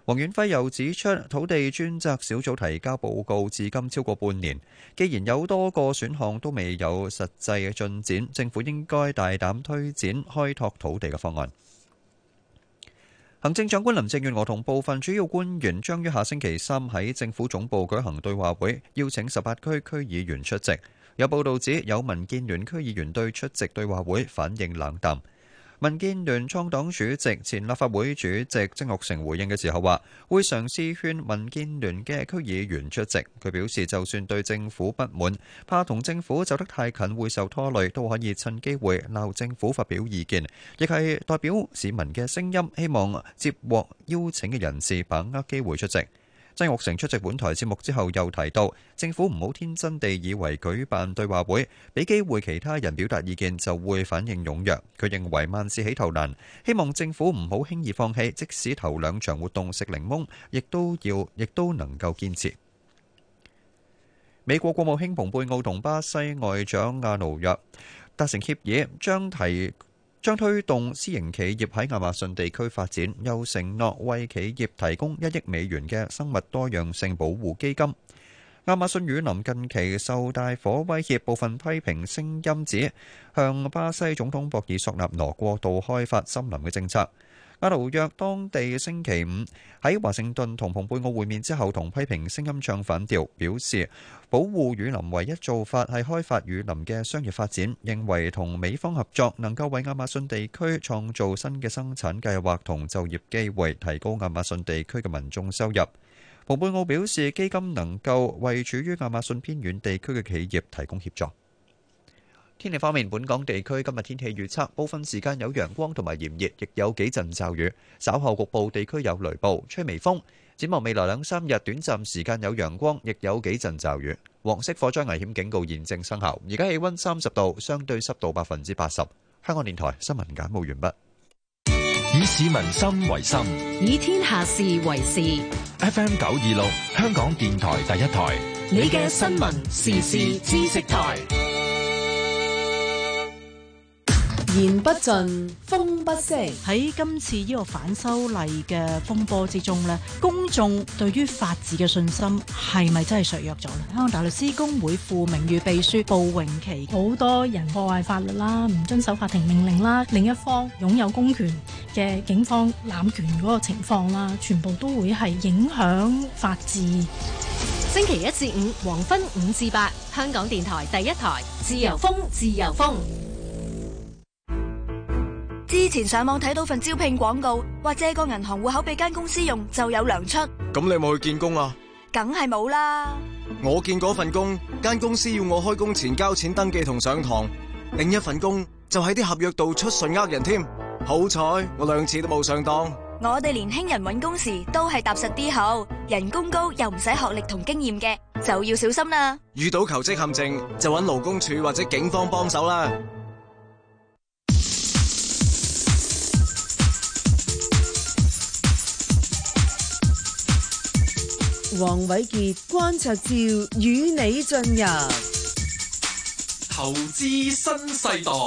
E: 黃遠輝又指出，土地專責小組提交報告至今超過半年，既然有多個選項都未有實際嘅進展，政府應該大膽推展開拓土地嘅方案。行政長官林鄭月娥同部分主要官員將於下星期三喺政府總部舉行對話會，邀請18區區議員出席。有報道指有民建聯區議員對出席對話會反應冷淡。民建聯創黨主席、前立法會主席曾鈺成回應嘅時候話，會嘗試勸民建聯嘅區議員出席。佢表示，就算對政府不滿，怕同政府走得太近會受拖累，都可以趁機會鬧政府發表意見，亦係代表市民嘅聲音，希望接獲邀請嘅人士把握機會出席。曾鈺成出席本台節目之後又提到，政府唔好天真地以為舉辦對話會，俾機會其他人表達意見就會反應踴躍。佢認為萬事起頭難，希望政府唔好輕易放棄，即使頭兩場活動食檸檬，亦都能夠堅持。美國國務卿蓬佩奧同巴西外長阿努約達成協議，將推動私營企業喺亞馬遜地區發展，又承諾為企業提供1億美元嘅生物多樣性保護基金。亞馬遜雨林近期受大火威脅，部分批評聲音指向巴西總統博爾索納羅過度開發森林嘅政策。阿努約當地星期五喺華盛頓同蓬佩奧會面之後，同批評聲音唱反調，表示保護雨林唯一做法係開發雨林嘅商業發展，認為同美方合作能夠為亞馬遜地區創造新嘅生產計劃同就業機會，提高亞馬遜地區嘅民眾收入。蓬佩奧表示，基金能夠為處於亞馬遜偏遠地區嘅企業提供協助。天氣方面，本港地區今日天氣預測，部分時間有陽光同埋炎熱，亦有幾陣驟雨，稍後局部地區有雷暴，吹微風。展望未來2-3日，短暫時間有陽光，亦有幾陣驟雨。黃色火災危險警告現正生效。而家氣溫30度，相對濕度80%。香港電台新聞簡報完畢。
O: 以市民心為心，
C: 以天下事為事。
O: FM 926，香港電台第一台，
C: 你嘅新聞時事知識台。
J: 言不盡，風不息。
H: 喺今次呢個反修例嘅風波之中呢，公眾對於法治嘅信心係咪真係削弱咗呢？香港大律師公會副名譽秘書布永琪，
V: 好多人破壞法律啦，唔遵守法庭命令啦，另一方擁有公權嘅警方濫權嗰個情況啦，全部都會係影響法治。
C: 星期1至5黃昏5至8，香港電台第一台，自由風，自由風。
W: 之前上網睇到份招聘廣告，話借個銀行戶口俾間公司用就有糧出。
F: 咁你有冇去見工啊？
W: 梗係冇啦。
F: 我見嗰份工，間公司要我開工前交錢登記同上堂，另一份工就喺啲合約度出信呃人添。好彩我2次都冇上當。
W: 我哋年輕人揾工時都係踏實啲好，人工高又唔使學歷同經驗嘅，就要小心啦。
F: 遇到求職陷阱就揾勞工處或者警方幫手啦。
J: 黃偉傑、關焯照與你進入
G: 投資新世代。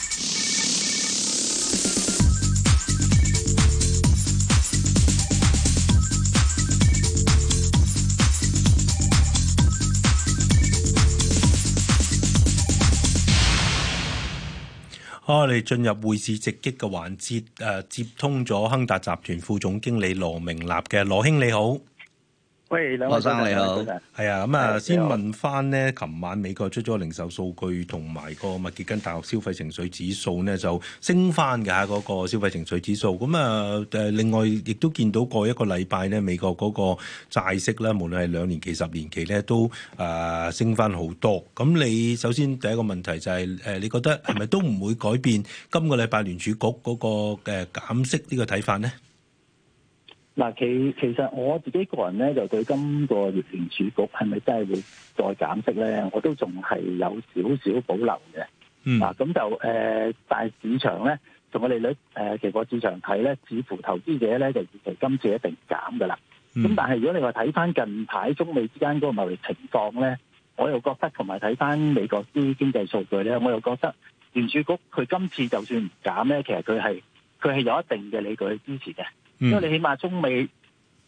B: 我哋進入匯市直擊嘅環節，接通咗亨達集團副總經理羅明立嘅。羅兄你好。
X: 喂，兩位生你好。
B: 係啊，咁啊，先問翻呢，琴晚美國出咗零售數據同埋個密歇根大學消費情緒指數呢，就升翻㗎嗰個消費情緒指數。咁啊另外亦都見到過一個禮拜呢，美國嗰個債息咧，無論係2年期、10年期咧，都升翻好多。咁你首先第一個問題就係你覺得係咪都唔會改變今個禮拜聯儲局嗰個減息呢個睇法呢？
X: 嗱，其實我自己個人咧，就對今個月聯儲局係咪真係會再減息咧，我都仲係有少少保留嘅。嗱，咁就但係市場咧，從個利率期貨市場睇咧，似乎投資者咧就預期今次一定減噶啦。咁但係如果你話睇翻近排中美之間嗰個貿易情況咧，我又覺得同埋睇翻美國啲經濟數據咧，我又覺得聯儲局佢今次就算唔減咧，其實佢係有一定嘅理據去支持嘅。因為你起碼中美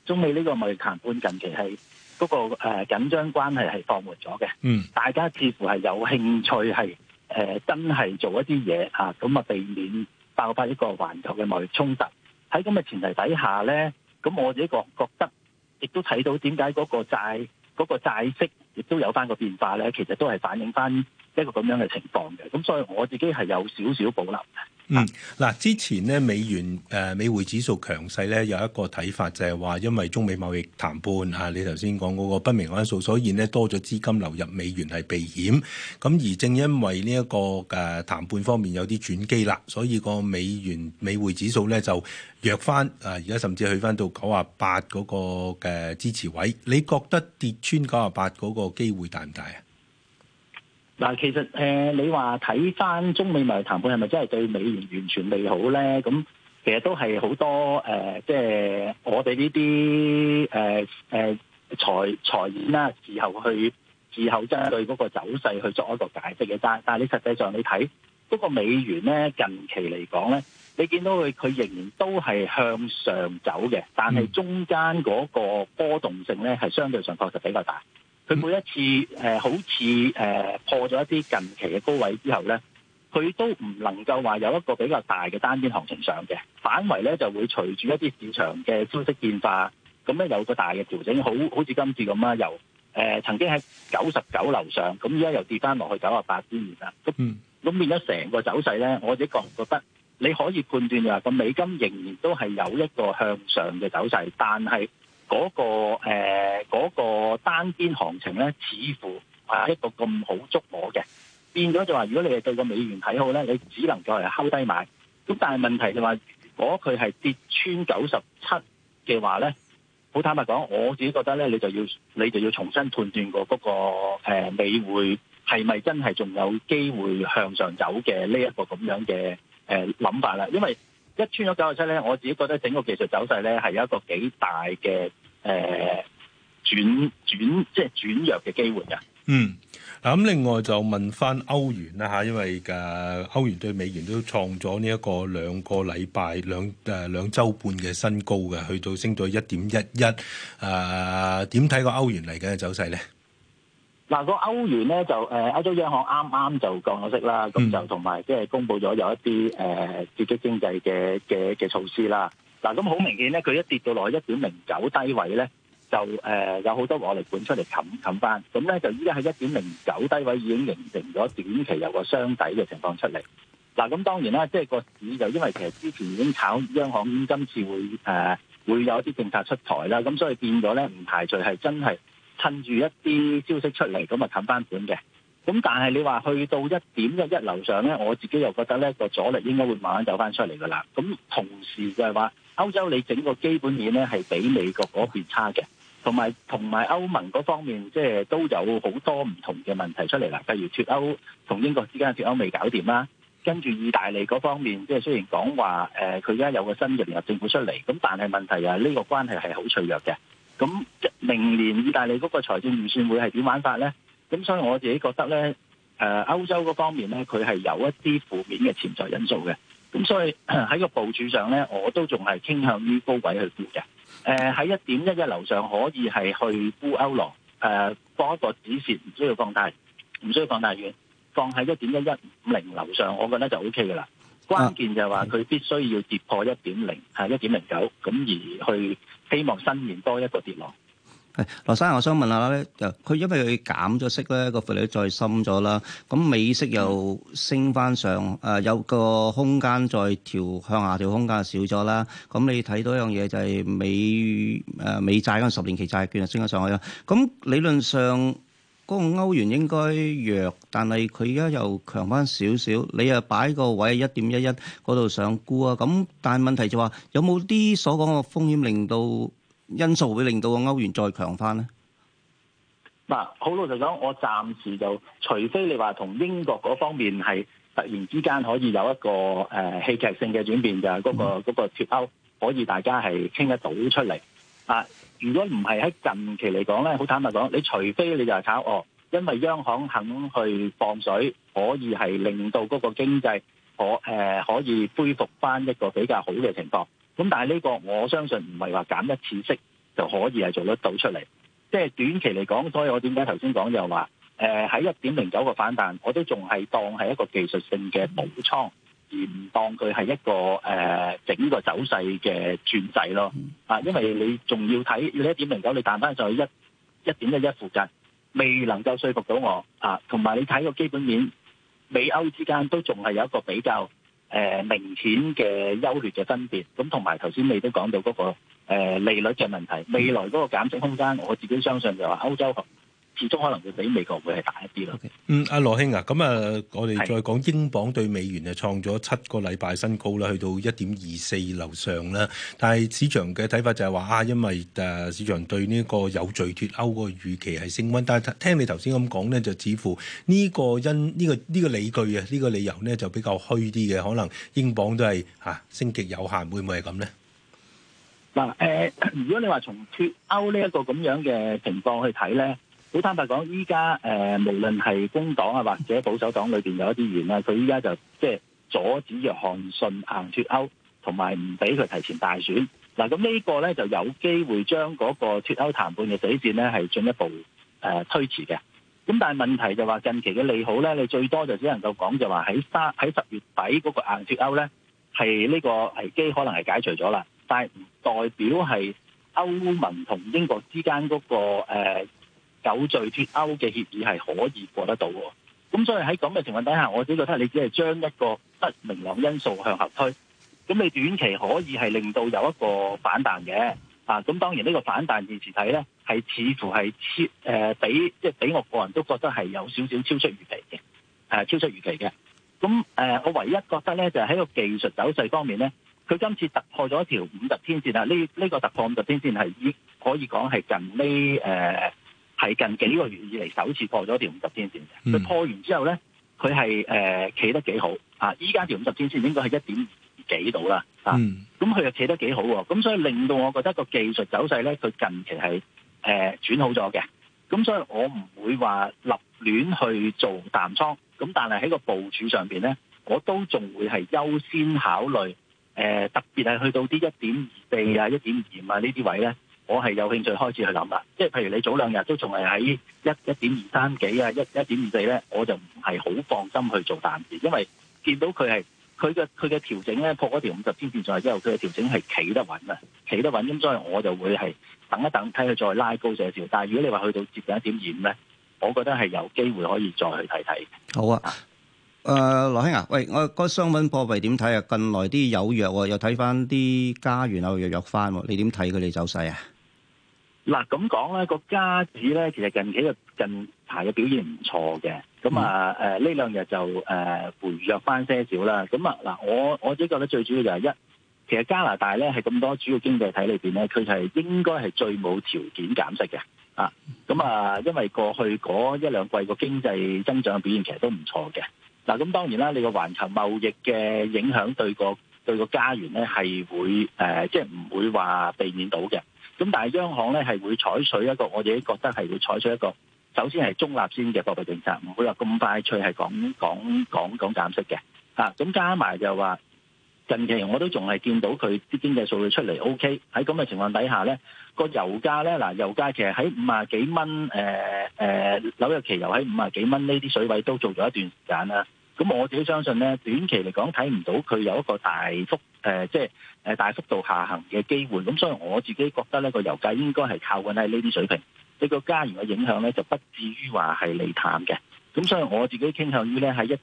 X: 中美呢個貿易談判近期係嗰個緊張關係係放緩咗嘅，大家似乎係有興趣係真係做一啲嘢嚇，咁避免爆發一個環球嘅貿易衝突。喺咁嘅前提底下咧，咁我自己覺得，亦都睇到點解嗰個債息亦都有翻個變化咧，其實都係反映翻一個咁樣嘅情況嘅。咁所以我自己係有少少保留嘅。
B: 嗱，之前咧美元美匯指數強勢咧，有一個睇法就係話，因為中美貿易談判啊，你頭先講嗰個不明因素，所以呢多咗資金流入美元係避險。咁而正因為呢一個談判方面有啲轉機啦，所以個美匯指數咧就弱翻。而家甚至去翻到98嗰個嘅支持位。你覺得跌穿98嗰個機會大唔大啊？
X: 嗱，其實你話睇翻中美貿易談判係咪真係對美元完全利好咧？咁其實都係好多即係我哋呢啲財演啦，事後針對嗰個走勢去作一個解釋嘅。但係你實際上你睇嗰個美元咧，近期嚟講咧，你見到佢仍然都係向上走嘅，但係中間嗰個波動性咧係相對上確實比較大。佢每一次好似破咗一啲近期嘅高位之後咧，佢都唔能夠話有一個比較大嘅單邊行情上嘅，反為咧就會隨住一啲市場嘅消息變化，咁咧有個大嘅調整，好似今次咁啦，由曾經喺99樓上，咁而家又跌翻落去98邊緣啦。咁變咗成個走勢咧，我自己覺得你可以判斷就話個美金仍然都係有一個向上嘅走勢，但係嗰個單邊行情咧，似乎係一個咁好捉摸嘅，變咗就話，如果你係對個美元睇好咧，你只能夠係睺低買。咁但係問題就話，如果佢係跌穿97嘅話咧，好坦白講，我自己覺得咧，你就要重新判斷過嗰個美匯係咪真係仲有機會向上走嘅呢一個咁樣嘅諗法啦。因為一穿咗97咧，我自己覺得整個技術走勢咧係有一個幾大嘅轉弱嘅機會嘅。
B: 嗱咁另外就問翻歐元啦嚇，因為歐元對美元都創咗呢一個兩個禮拜兩週半嘅新高嘅，去到升到1.11。點睇個歐元嚟嘅走勢咧？
X: 嗱，個歐元咧就歐洲央行啱就降咗息啦，咁就同埋即係公佈咗有一啲刺激經濟嘅措施啦。嗱，咁好明顯咧，佢一跌到落去1.09低位咧，就有好多獲利盤出嚟冚翻，咁咧就依家喺1.09低位已經形成咗短期有個雙底嘅情況出嚟。嗱，咁當然啦，即係個市就因為其實之前已經炒央行今次會有一啲政策出台啦，咁所以變咗咧唔排除係真係趁住一啲消息出嚟咁啊冚翻盤嘅。咁但係你話去到1.11樓上咧，我自己又覺得咧個阻力應該會慢慢走翻出嚟噶啦。咁同時就係話歐洲你整個基本面咧係比美國嗰邊差嘅，同埋歐盟嗰方面即係都有好多唔同嘅問題出嚟啦。例如脫歐同英國之間脫歐未搞掂啦，跟住意大利嗰方面即係雖然講話佢而家有個新嘅聯合政府出嚟，咁但係問題呢個關係係好脆弱嘅。咁明年意大利嗰個財政預算會係點玩法咧？咁所以我自己覺得咧，歐洲嗰方面咧，佢係有一啲負面嘅潛在因素嘅。咁所以喺個部署上咧，我都仲係傾向於高位去沽嘅。喺1.11樓上可以係去沽歐羅，放一個止蝕，唔需要放大遠，放喺1.1150樓上，我覺得就 O K 噶啦。關鍵就係話佢必須要跌破1.09，咁而去希望伸延多一個跌浪。
A: 係，羅生，我想問下咧，佢因為佢減咗息咧，個負利率再深咗啦，咁美息又升翻上，有個空間再向下調空間少咗啦。咁你睇到一樣嘢就係美債嗰個10年期債券就升咗上去啦。咁理論上嗰個歐元應該弱，但係佢而家又強翻少少，你又擺個位1.11嗰度上沽啊。咁但係問題就話有冇啲所講嘅風險因素會令到個歐元再強翻咧？
X: 嗱，好老實講，我暫時就除非你話同英國嗰方面係突然之間可以有一個戲劇性嘅轉變，就係嗰個脫歐可以大家係傾得到出嚟啊！如果唔係喺近期嚟講咧，好坦白講，你除非你就係炒因為央行肯去放水，可以係令到嗰個經濟可以恢復翻一個比較好嘅情況。咁但係呢個我相信唔係話減一次息就可以係做得到出嚟。即係短期嚟講，所以我點解頭先講就話喺1.09個反彈，我都仲係當係一個技術性嘅補倉，而唔當佢係一個整個走勢嘅轉勢咯。因為你仲要睇你1.09，你彈翻上去1.11附近，未能夠說服到我同埋你睇個基本面，美歐之間都仲係有一個比較明顯嘅優劣嘅分別。咁同埋頭先你都講到嗰個利率嘅問題，未來嗰個減息空間，我自己相信就話歐洲始終可能會比美國會係大一啲咯。
B: 阿羅兄啊，咁我哋再講英鎊對美元創咗7個禮拜新高啦，去到1.24樓上啦。但係市場嘅睇法就係話因為市場對呢個有序脫歐個預期係升溫，但係聽你頭先咁講咧，就似乎呢個理據呢個理由咧就比較虛啲嘅，可能英鎊都係升極有限，會唔會係咁咧？
X: 如果你話從脫歐呢一個咁樣嘅情況去睇咧，好坦白講，依家無論係工黨或者保守黨裏邊有一啲議員啦，佢依家就即係阻止約翰遜硬脫歐，同埋唔俾佢提前大選。咁呢個咧就有機會將嗰個脫歐談判嘅死線咧係進一步推遲嘅。咁但係問題就話近期嘅利好咧，你最多就只能夠講就話喺10月底嗰個硬脫歐咧係呢個危機可能係解除咗啦，但係唔代表係歐盟同英國之間嗰個有序脫歐嘅協議係可以過得到喎。咁所以喺咁嘅情況底下，我自己覺得你只係將一個不明朗因素向後推，咁你短期可以係令到有一個反彈嘅。咁當然呢個反彈現時睇咧係似乎係比我個人都覺得係有少少超出預期嘅，超出預期嘅。咁我唯一覺得咧就係喺個技術走勢方面咧，佢今次突破咗一條50天線啦。呢個突破50天線係可以講係近幾個月以嚟首次破咗條50天線嘅。佢破完之後咧，佢係企得幾好。依家條50天線應該係1.2幾度啦。咁佢又企得幾好喎。咁所以令到我覺得個技術走勢咧，佢近期係轉好咗嘅。咁所以我唔會話立亂去做淡倉。咁但係喺個部署上邊咧，我都仲會係優先考慮特別係去到啲1.24啊、1.25啊呢啲位咧，我係有興趣開始去諗啦。即係譬如你早兩日都仲係喺1.23幾啊、1.24咧，我就唔係好放心去做淡市，因為見到佢嘅調整咧，破嗰條50天線上去之後，佢嘅調整係企得穩啊，企得穩。咁所以我就會係等一等，睇佢再拉高少少。但係如果你話去到接近1.25咧，我覺得係有機會可以再去睇睇。
A: 好啊。羅兄啊，喂，我個商品貨幣點睇啊？近來啲有弱喎，又睇翻啲加元又弱翻喎，你點睇佢哋走勢啊？
X: 嗱，咁講咧，個加指咧，其實近排嘅表現唔錯嘅。咁呢兩日就回弱翻些少啦。咁我自己覺得最主要就係其實加拿大咧係咁多主要經濟體裏邊咧，佢係應該係最冇條件減息嘅。因為過去嗰1、2季個經濟增長表現其實都唔錯嘅。咁當然啦，你個環球貿易嘅影響對個加元咧係會即係唔會話避免到嘅。咁但係央行咧係會採取一個，我自己覺得係會採取一個，首先係中立先嘅貨幣政策，唔會話咁快脆係講減息嘅。咁加埋就話近期我都仲係見到佢啲經濟數據出嚟 OK。喺咁嘅情況底下咧，個油價咧油價其實喺50幾蚊，紐約期油喺50幾蚊呢啲水位都做咗一段時間啦。咁我自己相信咧，短期嚟講睇唔到佢有一個大幅度下行嘅機會。咁所以我自己覺得咧，個油價應該係靠緊喺呢啲水平。呢個加元嘅影響咧就不至於話係利淡嘅。咁所以我自己傾向於咧喺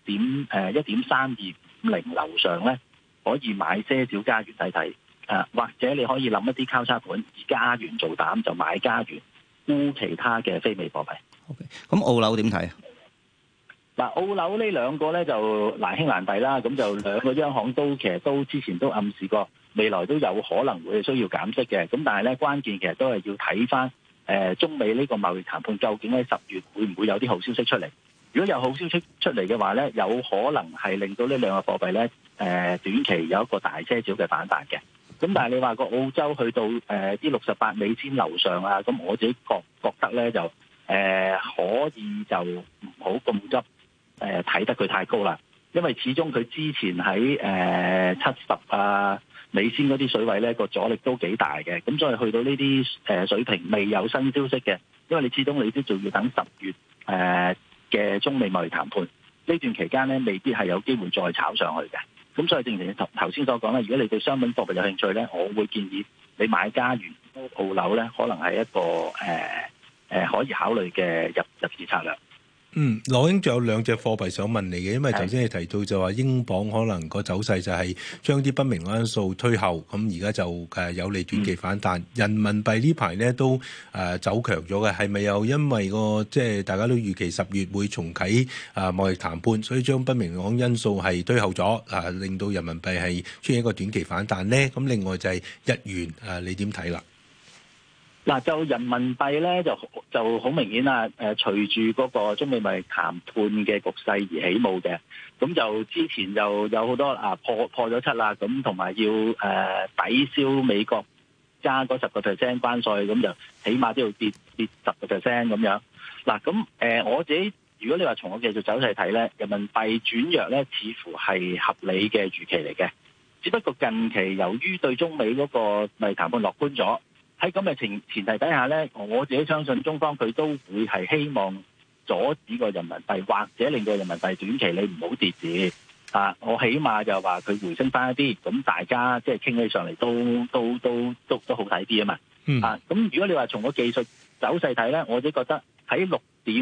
X: 1.3250樓上咧可以買些少加元睇睇。或者你可以諗一啲交叉盤，以加元做膽就買加元，沽其他嘅非美貨幣。
A: OK， 咁澳樓點睇啊？
X: 澳樓呢兩個咧就難兄難弟啦。咁就兩個央行其實都之前都暗示過未來都有可能會需要減息嘅。咁但係咧關鍵其實都係要睇翻中美呢個貿易談判究竟喺10月會唔會有啲好消息出嚟？如果有好消息出嚟嘅話咧，有可能係令到呢兩個貨幣咧短期有一個大些少嘅反彈嘅。咁但係你話個澳洲去到啲68美仙樓上啊，咁我自己覺得咧就可以就唔好咁急睇得佢太高啦，因為始終佢之前喺70啊尾先嗰啲水位咧個阻力都幾大嘅，咁所以去到呢啲水平未有新消息嘅，因為你始終你都仲要等10月嘅中美貿易談判呢段期間咧，未必係有機會再炒上去嘅。咁所以正如頭先所講啦，如果你對商品貨幣有興趣咧，我會建議你買加元澳樓咧，可能係一個可以考慮嘅入市策略。
B: 羅英仲有兩隻貨幣想問你嘅，因為頭先你提到就話英鎊可能個走勢就係將啲不明因素推後，咁而家就有利短期反彈。人民幣呢排咧都走強咗嘅，係咪又因為即係大家都預期10月會重啟貿易談判，所以將不明朗因素係推後咗，令到人民幣係出現一個短期反彈咧？咁另外就係日元，你點睇啦？
X: 嗱，就人民幣咧就好明顯啦，隨住嗰個中美貿易談判嘅局勢而起舞嘅，咁就之前就有好多破咗7啦，咁同埋要抵消美國加嗰10% 關稅，咁就起碼都要跌10% 咁樣。嗱，咁我自己如果你話從我技術走勢睇咧，人民幣轉弱咧，似乎係合理嘅預期嚟嘅，只不過近期由於對中美嗰個貿易談判樂觀咗。喺咁嘅前提底下咧，我自己相信中方佢都會係希望阻止個人民幣，或者令到人民幣短期你唔好跌市我起碼就話佢回升翻一啲，咁大家即係傾起上嚟都好睇啲啊嘛。咁如果你話從個技術走勢睇咧，我自己覺得喺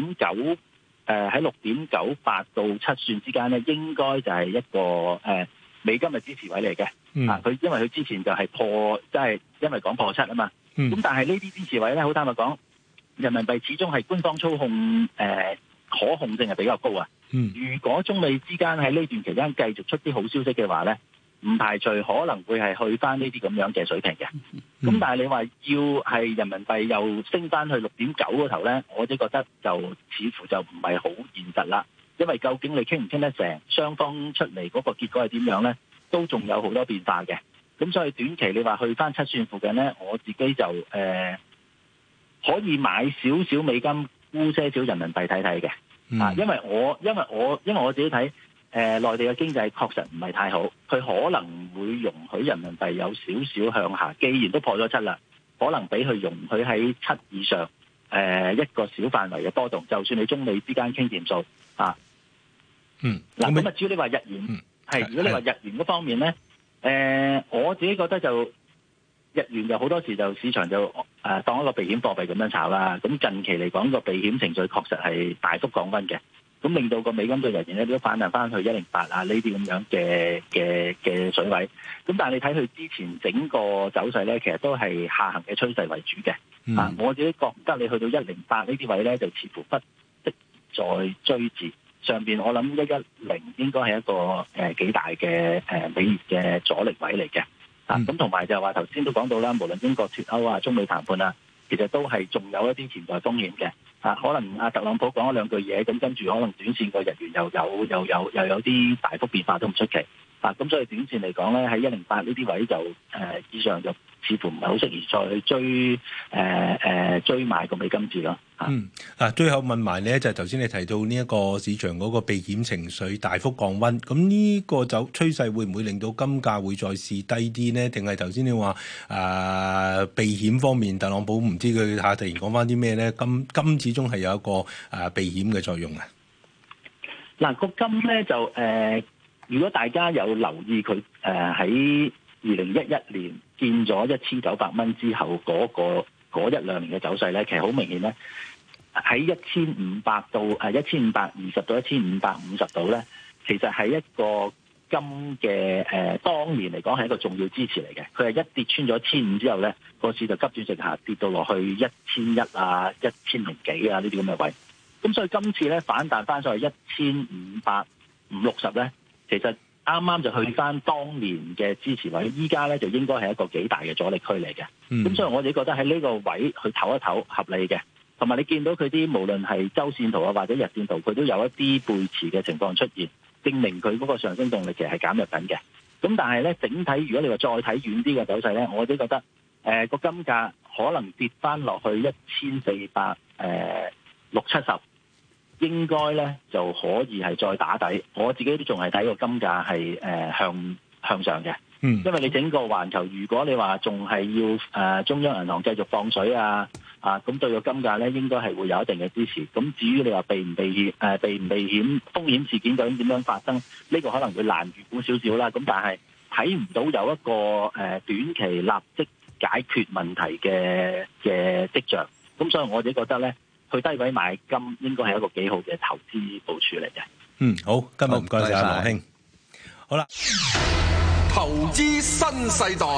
X: 6.9喺6.98到7算之間咧，應該就係一個美金嘅支持位嚟嘅。佢因為佢之前就係即係因為講破7啊嘛。咁但係呢啲支持位咧，好坦白講，人民幣始終係官方操控，可控性係比較高啊。如果中美之間喺呢段期間繼續出啲好消息嘅話咧，唔排除可能會係去翻呢啲咁樣嘅水平嘅。咁但係你話要係人民幣又升翻去6.9嗰頭咧，我都覺得就似乎就唔係好現實啦。因為究竟你傾唔傾得成，雙方出嚟嗰個結果係點樣咧，都仲有好多變化嘅。咁所以短期你話去翻7算附近咧，我自己就可以買少少美金沽些少人民幣睇睇嘅。因為我自己睇內地嘅經濟確實唔係太好，佢可能會容許人民幣有少少向下。既然都破咗7啦，可能俾佢容許喺7以上一個小範圍嘅波動，就算你中美之間傾掂數咁至於你話日元如果你話日元嗰方面咧。我自己覺得就日元就好多時就市場就當一個避險貨幣咁樣炒啦。咁近期嚟講個避險情緒確實係大幅降溫嘅，咁令到個美金對日元咧都反彈翻去108呢啲咁樣嘅水位。咁但係你睇佢之前整個走勢咧，其實都係下行嘅趨勢為主嘅。我自己覺得你去到108呢啲位咧，就似乎不適再追至。上邊我諗110應該係一個幾大嘅美元嘅阻力位嚟嘅。咁同埋就係話頭先都講到啦，無論英國脫歐啊、中美談判啊，其實都係仲有一啲潛在風險嘅。可能特朗普講咗兩句嘢，咁跟住可能短線個日元又有啲大幅變化都唔出奇。咁所以短線嚟講咧，喺108呢啲位就以上就似乎唔係好適宜再去追買個美金字咯。
B: 最後問埋咧，就係頭先你提到呢一個市場嗰個避險情緒大幅降溫，咁呢個趨勢會唔會令到金價會再試低啲呢？定係頭先你話避險方面，特朗普唔知佢突然講翻啲咩咧？金始終係有一個避險嘅作用啊。
X: 嗱，個金咧就如果大家有留意佢喺2011年見咗1900蚊之後嗰1-2年嘅走勢咧，其實好明顯咧，喺1500到1520到1550度咧，其實係一個金嘅當年嚟講係一個重要支持嚟嘅。佢係一跌穿咗1500之後咧，個市就急轉直下，跌到落去1100啊、1000幾啊呢啲咁嘅位。咁所以今次咧反彈翻上去1550-60咧，其實啱啱就去翻當年嘅支持位，依家咧就應該係一個幾大嘅阻力區嚟嘅。咁所以我哋覺得喺呢個位去唞一唞合理嘅，同埋你見到佢啲無論係周線圖啊或者日線圖，佢都有一啲背馳嘅情況出現，證明佢嗰個上升動力其實係減弱緊嘅。咁但係咧整體如果你話再睇遠啲嘅走勢咧，我都覺得個金價可能跌翻落去1460-70。應該咧就可以係再打底，我自己都仲係睇個金價係向上嘅。 因為你整個環球，如果你話仲係要中央銀行繼續放水咁對個金價咧應該係會有一定嘅支持。咁至於你話避唔避險風險事件究竟點樣發生，呢個可能會難預估少少啦。咁但係睇唔到有一個短期立即解決問題嘅跡象。咁所以我自己覺得咧，去低位買金應該係一個幾好嘅投資部署嚟嘅。
B: 好，今日唔該晒羅兄。好啦，
G: 投資新世代。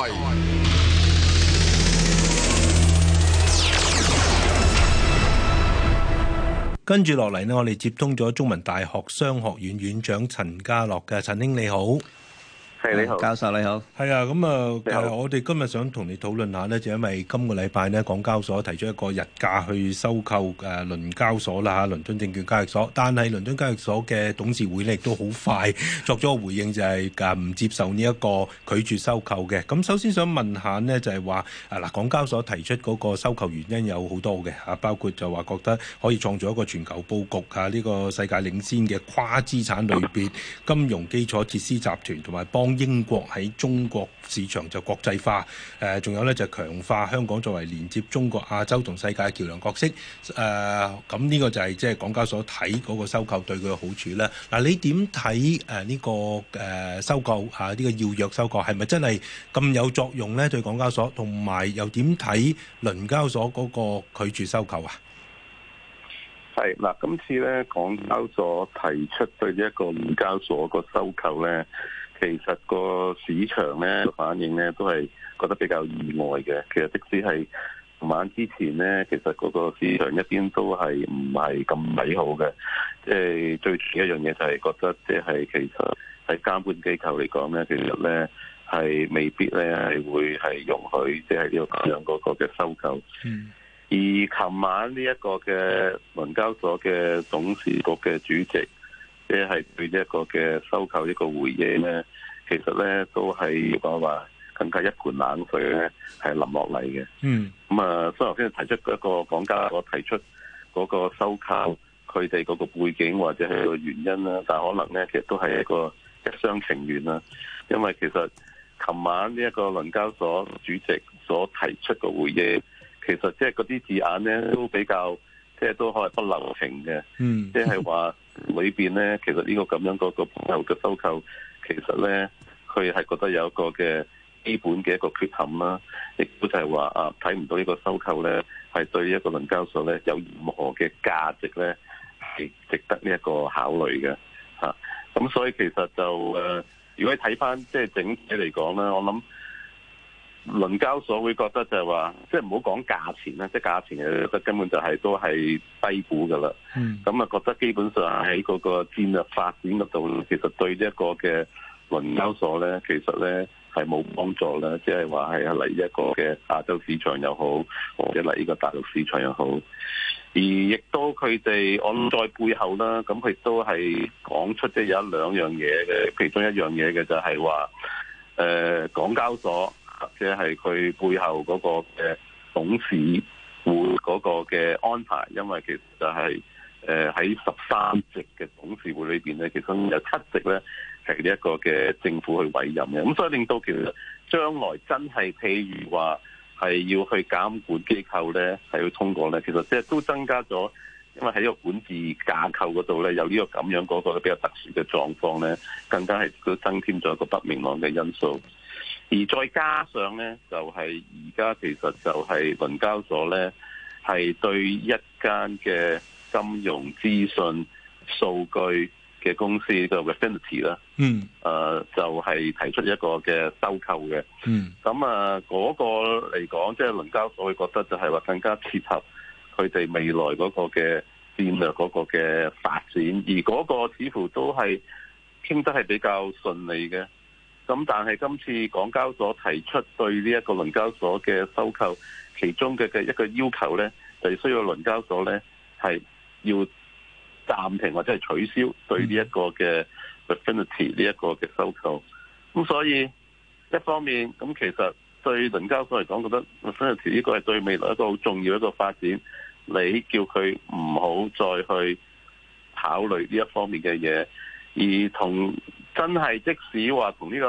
B: 跟住落嚟呢，我哋接通咗中文大學商學院院長陳家樂嘅。陳兄你好。
I: 係你好，
A: 教授你好。
B: 係啊，咁我哋今日想同你討論下呢，就因為今個禮拜呢，港交所提出一個日價去收購倫交所啦嚇，倫敦證券交易所。但係倫敦交易所嘅董事會呢亦都好快作咗個回應，就係唔接受呢一個拒絕收購嘅。咁首先想問下呢，就係話港交所提出嗰個收購原因有好多嘅嚇，包括就話覺得可以創造一個全球佈局呢個世界領先嘅跨資產類別金融基礎設施集團，同埋幫英國喺中國市場就國際化，仲有咧就強化香港作為連接中國、亞洲同世界嘅橋梁角色。咁呢個就係即係港交所睇嗰個收購對佢嘅好處咧。嗱，你點睇呢個收購呢個要約收購係咪真係咁有作用咧？對港交所，同埋又點睇倫交所嗰個拒絕收購啊？
I: 係嗱，今次咧港交所提出對呢一個倫交所個收購咧，其實個市場咧反應咧都係覺得比較意外嘅。其實即使係琴晚之前咧，其實嗰個市場一邊都係唔係咁美好嘅。即係最主要一樣嘢就係覺得，即係其實喺監管機構嚟講咧，其實咧係未必咧係會係容許即係呢個咁樣嗰個嘅收購。而琴晚呢一個嘅倫交所嘅董事局嘅主席，即係對一個嘅收購一個回應咧，其實咧都係講話更加一盆冷水咧係淋落嚟嘅。所以頭先提出一個港交所提出嗰個收購佢哋嗰個背景或者係個原因啦，但係可能咧其實都係一個一廂情願啦。因為其實琴晚呢一個倫交所主席所提出嘅回應，其實即係嗰啲字眼咧都比較即係都可能不留情嘅。即係話裏邊咧，其實呢個咁樣嗰個背後嘅收購，其實咧佢係覺得有一個嘅基本嘅一個缺陷啦，亦都就係話睇唔到呢個收購咧係對一個倫交所咧有任何嘅價值咧係值得呢一個考慮嘅嚇。咁所以其實就如果你睇翻即係整體嚟講咧，我諗倫交所會覺得就係話，即係唔好講價錢啦，即係價錢覺得根本就係都係低估噶啦。咁覺得基本上喺嗰個戰略發展嗰度，其實對一個嘅倫交所咧，其實咧係冇幫助啦。即係話係嚟一個嘅亞洲市場又好，或者嚟呢個大陸市場又好。而亦都佢哋我諗在背後啦，咁佢都係講出即係有一兩樣嘢嘅，其中一樣嘢嘅就係話，港交所或者係佢背後嗰個嘅董事會嗰個嘅安排，因為其實就係喺13席嘅董事會裏邊咧，其中有7席咧係呢一個嘅政府去委任嘅，咁所以令到其實將來真係譬如話係要去監管機構咧係要通過咧，其實即係都增加咗，因為喺個管治架構嗰度咧有呢個咁樣嗰個比較特殊嘅狀況咧，更加係都增添咗一個不明朗嘅因素。而再加上咧，就係而家其實就係倫交所咧，係對一間嘅金融資訊數據嘅公司叫 Refinitiv 啦，就係提出一個嘅收購嘅。咁嗰個嚟講，即係倫交所會覺得就係話更加切合佢哋未來嗰個嘅戰略嗰個嘅發展，而嗰個似乎都係傾得係比較順利嘅。咁但係今次港交所提出對呢一個倫交所嘅收購，其中嘅一個要求呢，就需要倫交所呢係要暫停或者係取消對呢一個嘅 Refinitiv 呢一個嘅收購。咁所以一方面咁其實對倫交所嚟講，覺得 Refinitiv 呢個係對未來一個好重要一個發展，你叫佢唔好再去考慮呢一方面嘅嘢。而同真係即使話同呢個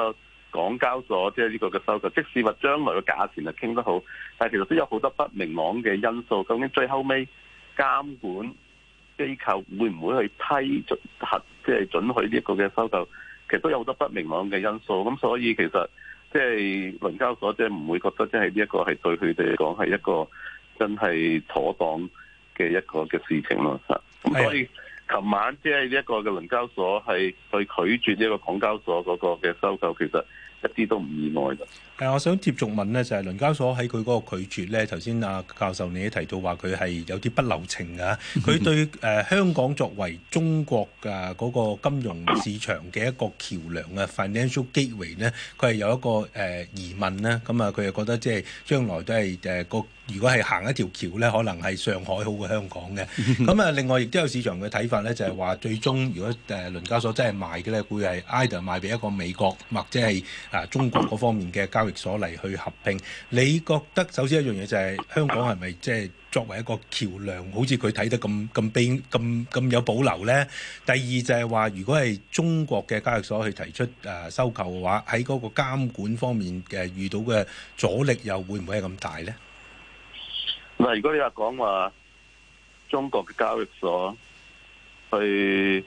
I: 港交所即係呢個嘅收購，即使話將來嘅價錢係傾得好，但係其實都有好多不明朗嘅因素。究竟最後尾監管機構會唔會去批准即係准許呢一個嘅收購？其實都有好多不明朗嘅因素。咁所以其實即係倫交所即係唔會覺得即係呢一個係對佢哋嚟講係一個真係妥當嘅一個嘅事情咯。咁所以琴晚即係呢一個嘅倫交所係去拒絕呢一個港交所嗰個嘅收購，其實一啲都唔意外嘅。
B: 我想接續問呢，就係倫交所喺佢嗰個拒絕呢，頭先阿教授你都提到話佢係有啲不留情㗎。佢對香港作為中國嘅嗰個金融市場嘅一個橋梁嘅 financial gateway 呢，佢係有一個疑問啦。咁啊，佢又覺得即係將來都係如果係行一條橋呢，可能係上海好過香港嘅。咁啊，另外亦都有市場嘅睇法呢，就係話最終如果倫交所真係賣嘅呢，會係 either 賣俾一個美國或者係中國嗰方面嘅交易所嚟去合併。你覺得首先一樣嘢就係香港係咪即係作為一個橋梁，好似佢睇得咁有保留呢？第二就係話，如果係中國嘅交易所去提出收購嘅話，喺嗰個監管方面嘅遇到嘅阻力又會唔會係咁大呢？
I: 嗱，如果你話講話中國嘅交易所去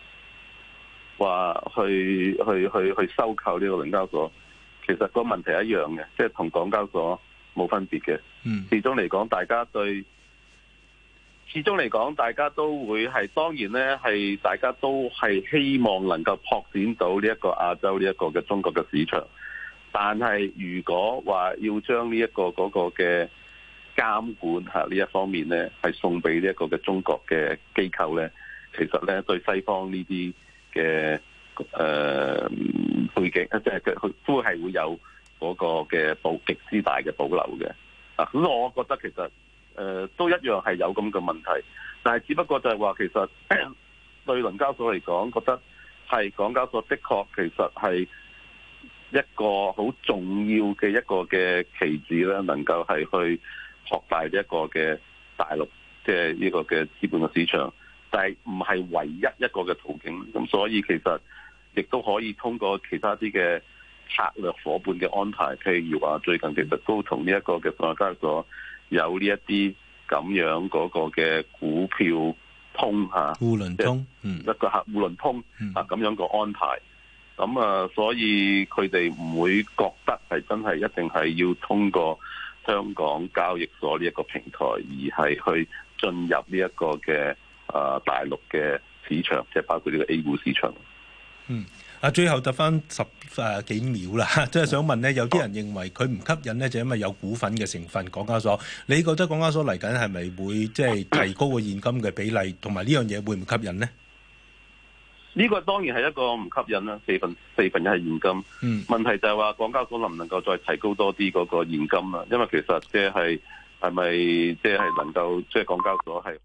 I: 收購呢個倫交所，其實個問題一樣嘅，即係同港交所冇分別嘅。始終嚟講，大家都會係當然咧，係大家都係希望能夠擴展到呢一個亞洲呢一個嘅中國嘅市場。但係如果話要將呢一個嗰個嘅監管呢一方面咧，係送俾呢一個嘅中國嘅機構咧，其實咧對西方呢啲嘅背景，即係佢都係會有嗰個嘅極之大嘅保留嘅。咁我覺得其實都一樣係有咁嘅問題，但係只不過就係話其實對倫交所嚟講，覺得係港交所的確其實係一個好重要嘅一個嘅棋子咧，能夠係去擴大一個嘅大陸即係呢個嘅資本嘅市場，但係唔係唯一一個嘅途徑。咁所以其實亦都可以通過其他啲嘅策略夥伴嘅安排，譬如話最近其實都同呢一個嘅上海交易所有呢一啲咁樣嗰個嘅股票通
B: 互聯通，
I: 一個互聯通咁樣個安排。咁所以佢哋唔會覺得係真係一定係要通過香港交易所呢一個平台，而係去進入呢一個嘅大陸嘅市場，即係包括呢個 A 股市場。
B: 最後得翻10幾秒啦，即係想問呢，有啲人認為佢唔吸引呢，就因為有股份嘅成分。港交所，你覺得港交所嚟緊係咪會即係提高個現金嘅比例，同埋呢樣嘢會唔吸引呢？
I: 呢個當然係一個唔吸引啦，四分一係現金。問題就係話港交所能唔能夠再提高多啲嗰個現金啦？因為其實即係咪即係能夠即係港交所係。